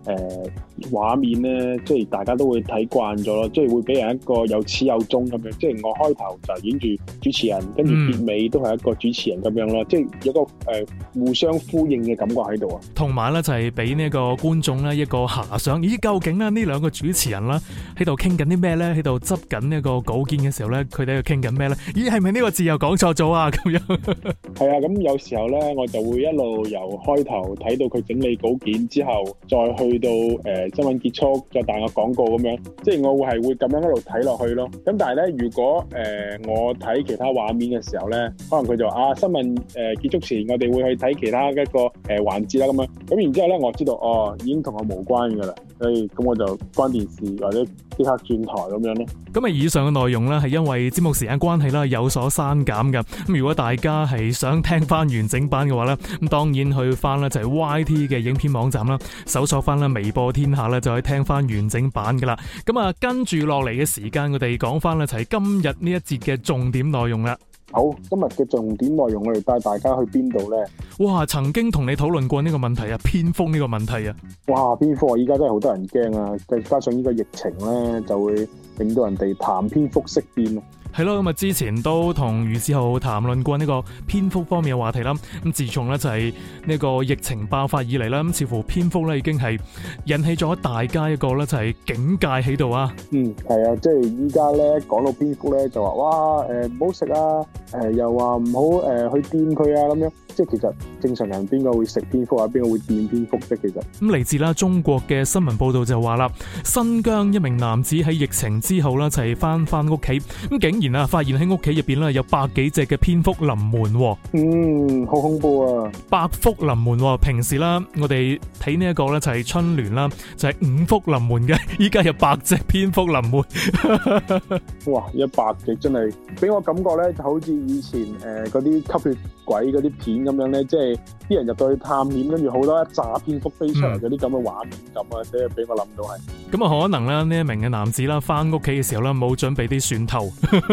畫面咧，即係大家都會睇慣咗咯，即係會俾人一個有始有終咁樣，即係我開頭就演住主持人，跟住結尾都係一個主持人咁樣咯，即係有個互相呼應嘅感覺喺度啊。 同埋咧就係俾呢個觀眾咧一個遐想，咦究竟咧呢兩個主持人啦喺度傾緊啲咩咧？喺度執緊呢個稿件嘅時候咧，佢哋喺度傾緊咩咧？咦係咪呢個字又講錯咗啊？咁樣係啊，咁有時候咧我就會一路由開頭睇到佢整理稿件之後，再去到新聞結束，再彈個廣告咁樣，即係我會咁樣一路睇落去咯。咁但係咧，如果我睇其他畫面嘅時候咧，可能佢就話新聞結束前，我哋會去睇其他一個環節啦咁樣。咁然之後咧，我知道已經同我無關㗎啦，所以咁我就關電視或者即刻轉台咁樣咯。 咁啊，以上嘅內容咧係因為節目時間關係啦，有所刪減㗎。咁如果大家係想聽翻完整版嘅話咧，咁當然去翻咧就係 YT 嘅影片網站啦，搜索翻啦微播天下咧就可以聽翻完整版噶啦。咁啊，跟住落嚟嘅時間，我哋講翻咧就係今日呢一節嘅重點內容啦。 好，今日嘅重點內容我哋帶大家去邊度呢？ 哇，曾經同你討論過呢個問題啊，蝙蝠呢個問題啊。 哇，蝙蝠依家真係好多人驚啊！再加上呢個疫情咧，就會令到人哋談蝙蝠色變啊。 係咯，咁啊之前都同余志豪談論過呢個蝙蝠方面嘅話題啦。咁自從咧就係呢個疫情爆發以嚟啦，咁似乎蝙蝠咧已經係引起咗大家一個咧就係警戒喺度啊。 係啊，即係依家咧講到蝙蝠咧就話哇唔好食啊，又話唔好去掂佢啊咁樣。即係其實正常人邊個會食蝙蝠啊？邊個會掂蝙蝠啫？其實咁嚟自啦中國嘅新聞報道就話啦，新疆一名男子喺疫情之後啦，就係翻屋企，咁竟然啊發現喺屋企入邊咧有百幾隻嘅蝙蝠臨門。 好恐怖啊！ 百福臨門，平時啦我哋睇呢一個咧就係春聯啦，就係五福臨門嘅，依家有100隻蝙蝠臨門。 哇！100隻真係俾我感覺咧，就好似以前嗰啲吸血鬼嗰啲片咁樣咧，即係啲人入到去探險，跟住好多一紮蝙蝠飛出嚟嗰啲咁嘅畫面咁啊，即係俾我諗到係。咁啊， 可能咧呢一名嘅男子啦，翻屋企嘅時候咧冇準備啲蒜頭。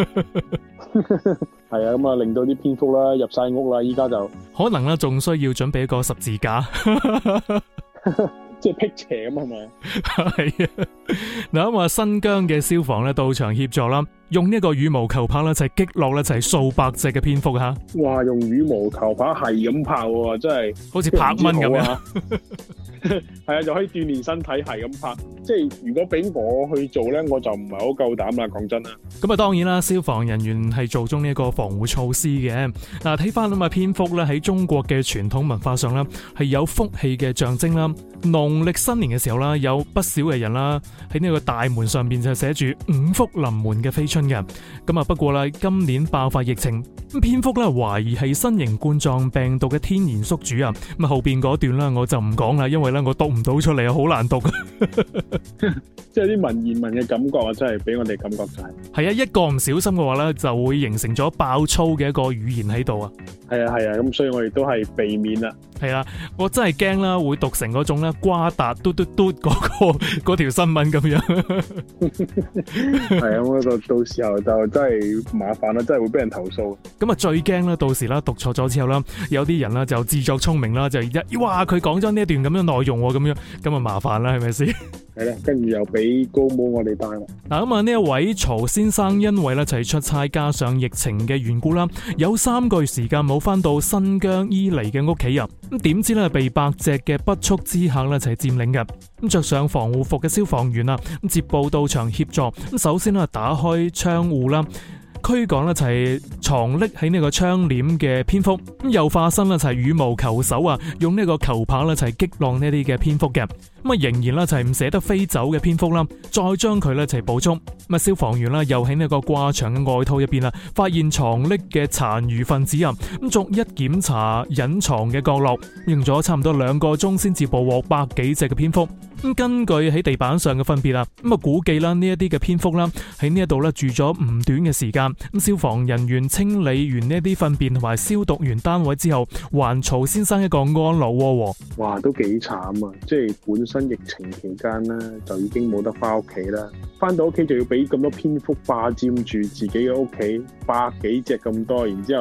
係啊，咁啊令到啲蝙蝠啦入晒屋啦，依家就可能咧仲需要準備一個十字架。 即係辟邪咁係咪？ 係啊，嗱咁啊，新疆嘅消防咧到場協助啦，用呢個羽毛球拍咧就係擊落咧就係數百隻嘅蝙蝠吓。 哇！用羽毛球拍係咁拍喎，真係好似拍蚊咁樣。 係啊，就可以鍛煉身體，係咁拍。即係如果俾我去做咧，我就唔係好夠膽啦。講真啦。 咁啊，當然啦，消防人員係做足呢一個防護措施嘅。嗱，睇翻咁啊，蝙蝠咧喺中國嘅傳統文化上啦，係有福氣嘅象徵啦。農曆新年嘅時候啦，有不少嘅人啦喺呢個大門上邊就寫住五福臨門嘅飛春嘅。咁啊，不過啦，今年爆發疫情，咁蝙蝠咧懷疑係新型冠狀病毒嘅天然宿主啊。咁啊，後邊嗰段啦我就唔講啦，因為咧我讀唔到出嚟啊，好難讀。 即係啲文言文嘅感覺啊，真係俾我哋感覺就係啊，一個唔小心嘅話咧，就會形成咗爆粗嘅一個語言喺度啊。 係啊，咁所以我哋都係避免啦。 係啊，我真係驚啦，會讀成嗰種咧瓜達嘟嘟嘟嗰條新聞咁樣。 係啊，咁到時候就真係麻煩啦，真係會俾人投訴。 咁啊，最驚啦，到時啦讀錯咗之後啦，有啲人啦就自作聰明啦，就哇佢講咗呢一段咁樣內容咁樣，咁啊麻煩啦，係咪先？ 係啦，跟住又俾高帽我哋戴啦。 嗱咁啊，呢一位曹先生因為咧就係出差加上疫情嘅緣故啦，有3個月時間冇翻到新疆伊犁嘅屋企啊。咁點知咧被百隻嘅不速之客咧就係佔領嘅。咁着上防護服嘅消防員啊，咁接報到場協助。咁首先咧打開窗戶啦，驅趕咧就係藏匿喺呢個窗簾嘅蝙蝠。咁又化身咧就係羽毛球手啊，用呢個球拍咧就係擊落呢啲嘅蝙蝠嘅。咁啊，仍然咧就係唔捨得飛走嘅蝙蝠啦，再將佢咧就係捕捉。咁啊，消防員啦又喺呢個掛牆嘅外套入邊啊，發現藏匿嘅殘餘分子啊，咁逐一檢查隱藏嘅角落，用咗差唔多2個鐘先至捕獲100幾隻嘅蝙蝠。咁根據喺地板上嘅分別啊，咁啊估計啦呢一啲嘅蝙蝠啦喺呢一度咧住咗唔短嘅時間。咁消防人員清理完呢啲糞便同埋消毒完單位之後，還曹先生一個安樂窩。哇， 都幾慘啊！即係本身疫情期間啦，就已經冇得翻屋企啦，翻到屋企就要俾咁多蝙蝠霸佔住自己嘅屋企，100幾隻咁多，然之後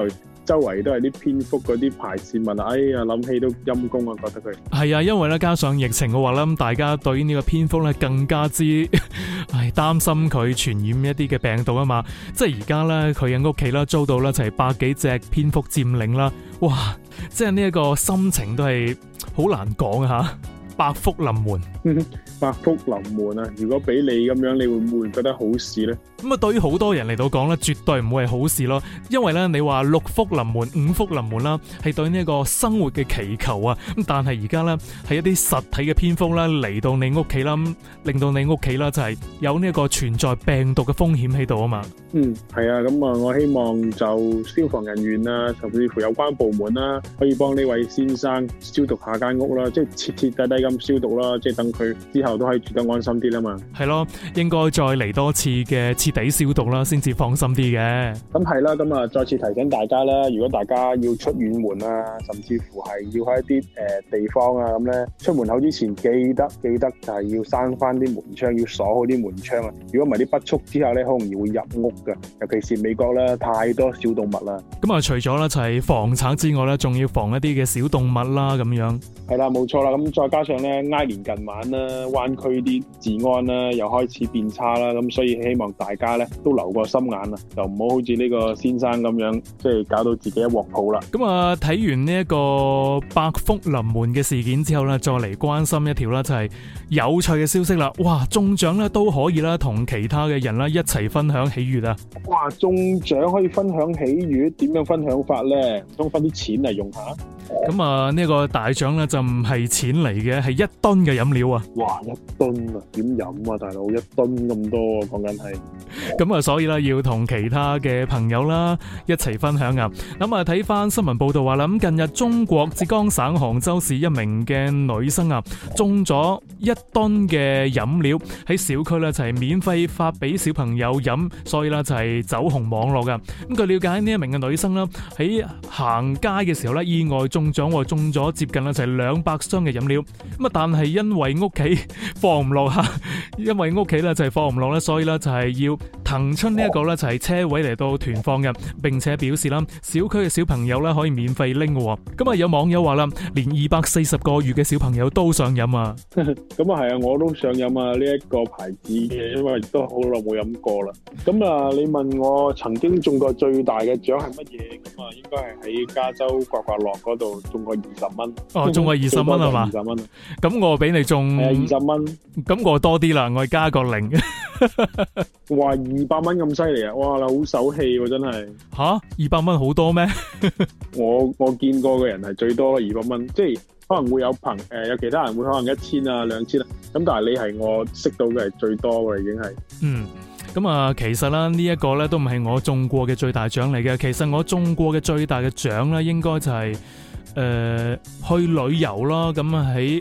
周圍都係啲蝙蝠嗰啲排泄物啊，哎呀諗起都陰公啊，覺得佢係啊，因為咧加上疫情嘅話咧，咁大家對呢個蝙蝠咧更加之擔心佢傳染一啲嘅病毒啊嘛。即係而家咧佢嘅屋企啦遭到咧就係百幾隻蝙蝠佔領啦，哇！即係呢一個心情都係好難講啊吓。百福臨門， 百福臨門啊！如果俾你咁樣，你會唔會覺得好事呢？ 咁啊，對於好多人嚟到講咧，絕對唔會係好事咯。因為咧，你話六福臨門、五福臨門啦，係對呢一個生活嘅祈求啊。咁但係而家咧，係一啲實體嘅蝙蝠啦嚟到你屋企啦，令到你屋企啦就係有呢一個存在病毒嘅風險喺度啊嘛。 係啊，咁啊，我希望就消防人員啊，甚至乎有關部門啦，可以幫呢位先生消毒下間屋啦，即係徹徹底底咁消毒啦，即係等佢之後都可以住得安心啲啦嘛。 係咯，應該再嚟多次嘅徹底消毒啦，先至放心啲嘅。咁係啦，咁啊，再次提醒大家啦，如果大家要出遠門啊，甚至乎係要喺一啲地方啊咁咧，出門口之前記得就係要閂翻啲門窗，要鎖好啲門窗啊。如果唔係啲不速之下咧，好容易會入屋㗎。尤其是美國咧，太多小動物啦。咁啊， 除咗咧就係防賊之外咧，仲要防一啲嘅小動物啦，咁樣。 係啦，冇錯啦。咁再加上咧，挨年近晚啦，灣區啲治安啦又開始變差啦，咁所以希望大家咧都留個心眼啊，就唔好好似呢個先生咁樣，即係搞到自己一鑊泡啦。 咁啊，睇完呢一個百福臨門嘅事件之後咧，再嚟關心一條啦，就係有趣嘅消息啦。哇，中獎咧都可以啦，同其他嘅人啦一齊分享喜悅啊！ 哇，中獎可以分享喜悅，點樣分享法咧？唔通分啲錢嚟用下？ 咁啊，呢個大獎咧就唔係錢嚟嘅，係1噸嘅飲料啊！ 哇，1噸啊，點飲啊，大佬？1噸咁多啊，講緊係。 咁啊，所以啦，要同其他嘅朋友啦一齊分享啊！咁啊，睇翻新聞報道話啦，咁近日中國浙江省杭州市一名嘅女生啊，中咗1噸嘅飲料喺小區咧就係免費發俾小朋友飲，所以啦就係走紅網絡噶。咁據了解呢一名嘅女生啦喺行街嘅時候咧意外中獎，中咗接近啦就係200箱嘅飲料。咁啊，但係因為屋企放唔落吓，因為屋企咧就係放唔落咧，所以咧就係要騰出呢一個咧就係車位嚟到團放嘅，並且表示啦小區嘅小朋友咧可以免費拎嘅。咁啊有網友話啦，連240個月嘅小朋友都想飲啊！ 咁啊係啊，我都想飲啊呢一個牌子嘅，因為都好耐冇飲過啦。咁啊，你問我曾經中過最大嘅獎係乜嘢？咁啊，應該係喺加州刮刮樂嗰度中過20蚊。 哦，中過20蚊係嘛 ？20蚊。 咁我比你中 20蚊。 咁我多啲啦，我加個0。 哇，200蚊咁犀利啊！哇，好手氣喎，真係。 吓，200蚊好多咩？ 我見過嘅人係最多200蚊，即係可能會有有其他人會可能1000啊、2000啊，咁但係你係我識到嘅係最多嘅，已經係。 咁啊，其實啦，呢一個咧都唔係我中過嘅最大獎嚟嘅。其實我中過嘅最大嘅獎咧，應該就係去旅遊啦。咁啊喺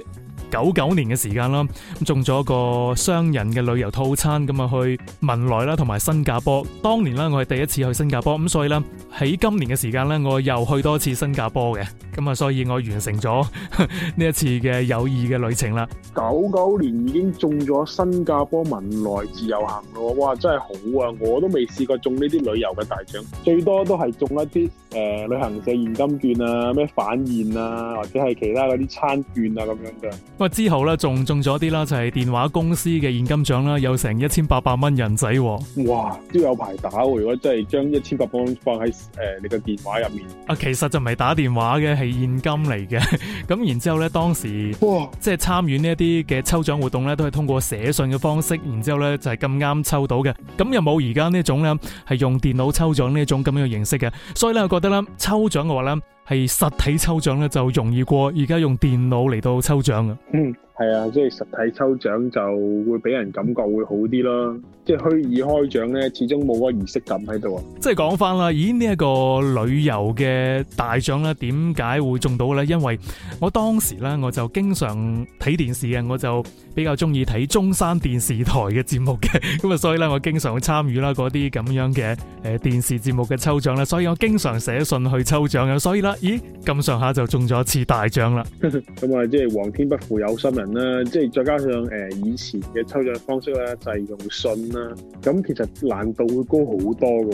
99年嘅時間啦，咁中咗個雙人嘅旅遊套餐，咁啊去文萊啦同埋新加坡。當年啦，我係第一次去新加坡，咁所以咧喺今年嘅時間咧，我又去多次新加坡嘅，咁啊所以我完成咗呢一次嘅友誼嘅旅程啦。 99年已經中咗新加坡文萊自由行咯，哇，真係好啊！我都未試過中呢啲旅遊嘅大獎，最多都係中一啲旅行社現金券啊、咩返現啊，或者係其他嗰啲餐券啊咁樣嘅。 咁啊之後咧仲中咗啲啦，就係電話公司嘅現金獎啦，有成1800蚊人仔。 哇，都有排打喎！如果真係將1800蚊放喺你個電話入面， 啊，其實就唔係打電話嘅，係現金嚟嘅。咁然之後咧，當時即係參與呢一啲嘅抽獎活動咧，都係通過寫信嘅方式，然之後咧就係咁啱抽到嘅。咁又冇而家呢種咧係用電腦抽獎呢一種咁樣嘅形式嘅，所以咧我覺得咧抽獎嘅話咧係實體抽獎咧就容易過而家用電腦嚟到抽獎啊。 係啊，即係實體抽獎就會俾人感覺會好啲咯。即係虛擬開獎咧，始終冇嗰個儀式感喺度啊。即係講翻啦，咦呢一個旅遊嘅大獎咧，點解會中到咧？因為我當時咧我就經常睇電視嘅，我就比較中意睇中山電視台嘅節目嘅，咁啊所以咧我經常會參與啦嗰啲咁樣嘅電視節目嘅抽獎啦，所以我經常寫信去抽獎嘅，所以啦，咦咁上下就中咗一次大獎啦。 咁啊，即係皇天不負有心人啦，即係再加上以前嘅抽獎方式咧就係用信啦，咁其實難度會高好多㗎喎。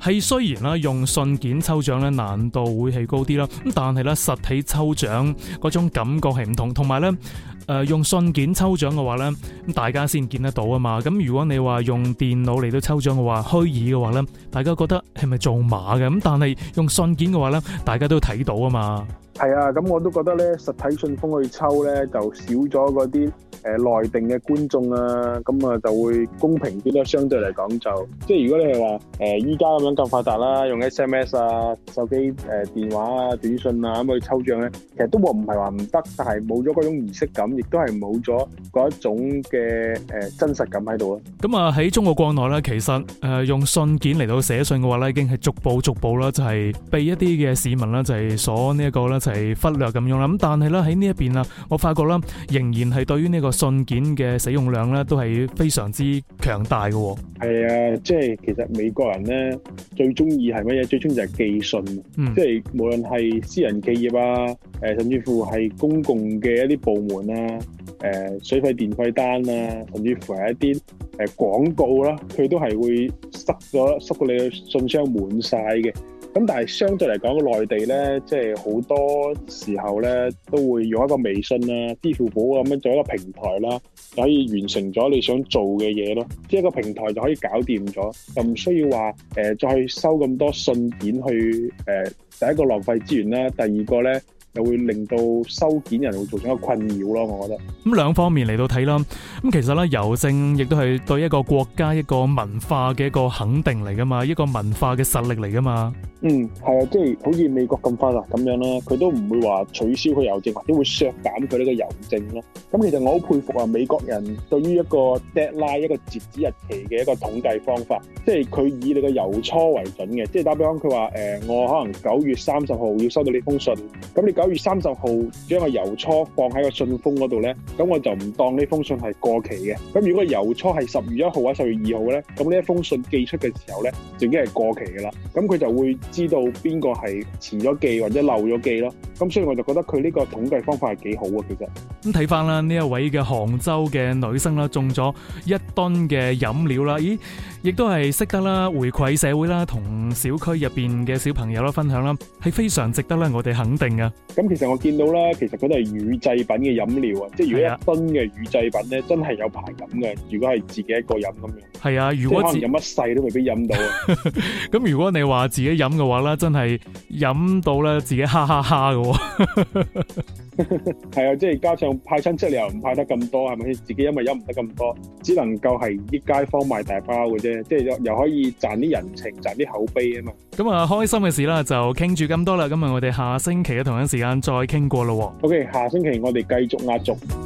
係雖然啦用信件抽獎咧難度會係高啲啦，咁但係咧實體抽獎嗰種感覺係唔同，同埋咧用信件抽獎嘅話咧，咁大家先見得到啊嘛。咁如果你話用電腦嚟到抽獎嘅話，虛擬嘅話咧，大家覺得係咪做馬嘅？咁但係用信件嘅話咧，大家都睇到啊嘛。 係啊，咁我都覺得咧，實體信封去抽咧就少咗嗰啲內定嘅觀眾啊，咁啊就會公平啲啦。相對嚟講就，即係如果你係話依家咁樣咁發達啦，用 SMS 啊、手機電話啊、短信啊咁去抽獎咧，其實都唔係話唔得，但係冇咗嗰種儀式感，亦都係冇咗嗰一種嘅真實感喺度咯。 咁啊喺中國國內咧，其實用信件嚟到寫信嘅話咧，已經係逐步啦，就係被一啲嘅市民啦，就係所呢一個咧就係忽略咁樣啦。咁但係咧喺呢一邊啊，我發覺啦，仍然係對於呢個信件嘅使用量咧，都係非常之強大嘅。 係啊，即係其實美國人咧最中意係乜嘢？最中意就係寄信，即係無論係私人企業啊，甚至乎係公共嘅一啲部門啊，水費電費單啊，甚至乎係一啲廣告啦，佢都係會塞到你嘅信箱滿晒嘅。咁但係相對嚟講，內地咧，即係好多時候咧，都會用一個微信啊、支付寶咁樣做一個平台啦，就可以完成咗你想做嘅嘢咯。即係一個平台就可以搞掂咗，就唔需要話再去收咁多信件去第一個浪費資源啦，第二個咧，又會令到收件人會造成一個困擾咯，我覺得。 咁兩方面嚟到睇啦，咁其實咧郵政亦都係對一個國家一個文化嘅一個肯定嚟噶嘛，一個文化嘅實力嚟噶嘛。 係啊，即係好似美國咁發達咁樣啦，佢都唔會話取消佢郵政，或者會削減佢呢個郵政咯。咁其實我好佩服啊，美國人對於一個 deadline 一個截止日期嘅一個統計方法，即係佢以你個郵戳為準嘅。即係打比方，佢話我可能9月30號要收到呢封信，咁你9月30號將個郵戳放喺個信封嗰度咧，咁我就唔當呢封信係過期嘅。咁如果郵戳係10月1號或者10月2號咧，咁呢一封信寄出嘅時候咧，就已經係過期㗎啦。咁佢就會知道邊個係遲咗寄或者漏咗寄咯。咁所以我就覺得佢呢個統計方法係幾好啊，其實。 咁睇翻啦，呢一位嘅杭州嘅女生啦，中咗1噸嘅飲料啦，咦，亦都係識得啦回饋社會啦，同小區入邊嘅小朋友啦分享啦，係非常值得啦我哋肯定啊。 咁其實我見到啦，其實佢都係乳製品嘅飲料啊，即係如果1噸嘅乳製品咧，真係有排飲嘅。如果係自己一個飲咁樣，係啊，如果可能飲一世都未必飲到啊。 咁如果你話自己飲嘅話咧，真係飲到咧自己哈哈哈嘅。 係啊，即係加上派親戚你又唔派得咁多，係咪先？自己因為飲唔得咁多，只能夠係益街坊賣大包嘅啫，即係又可以賺啲人情，賺啲口碑啊嘛。 咁啊，開心嘅事啦，就傾住咁多啦。咁啊，我哋下星期嘅同一時間再傾過咯。 OK， 下星期我哋繼續壓軸。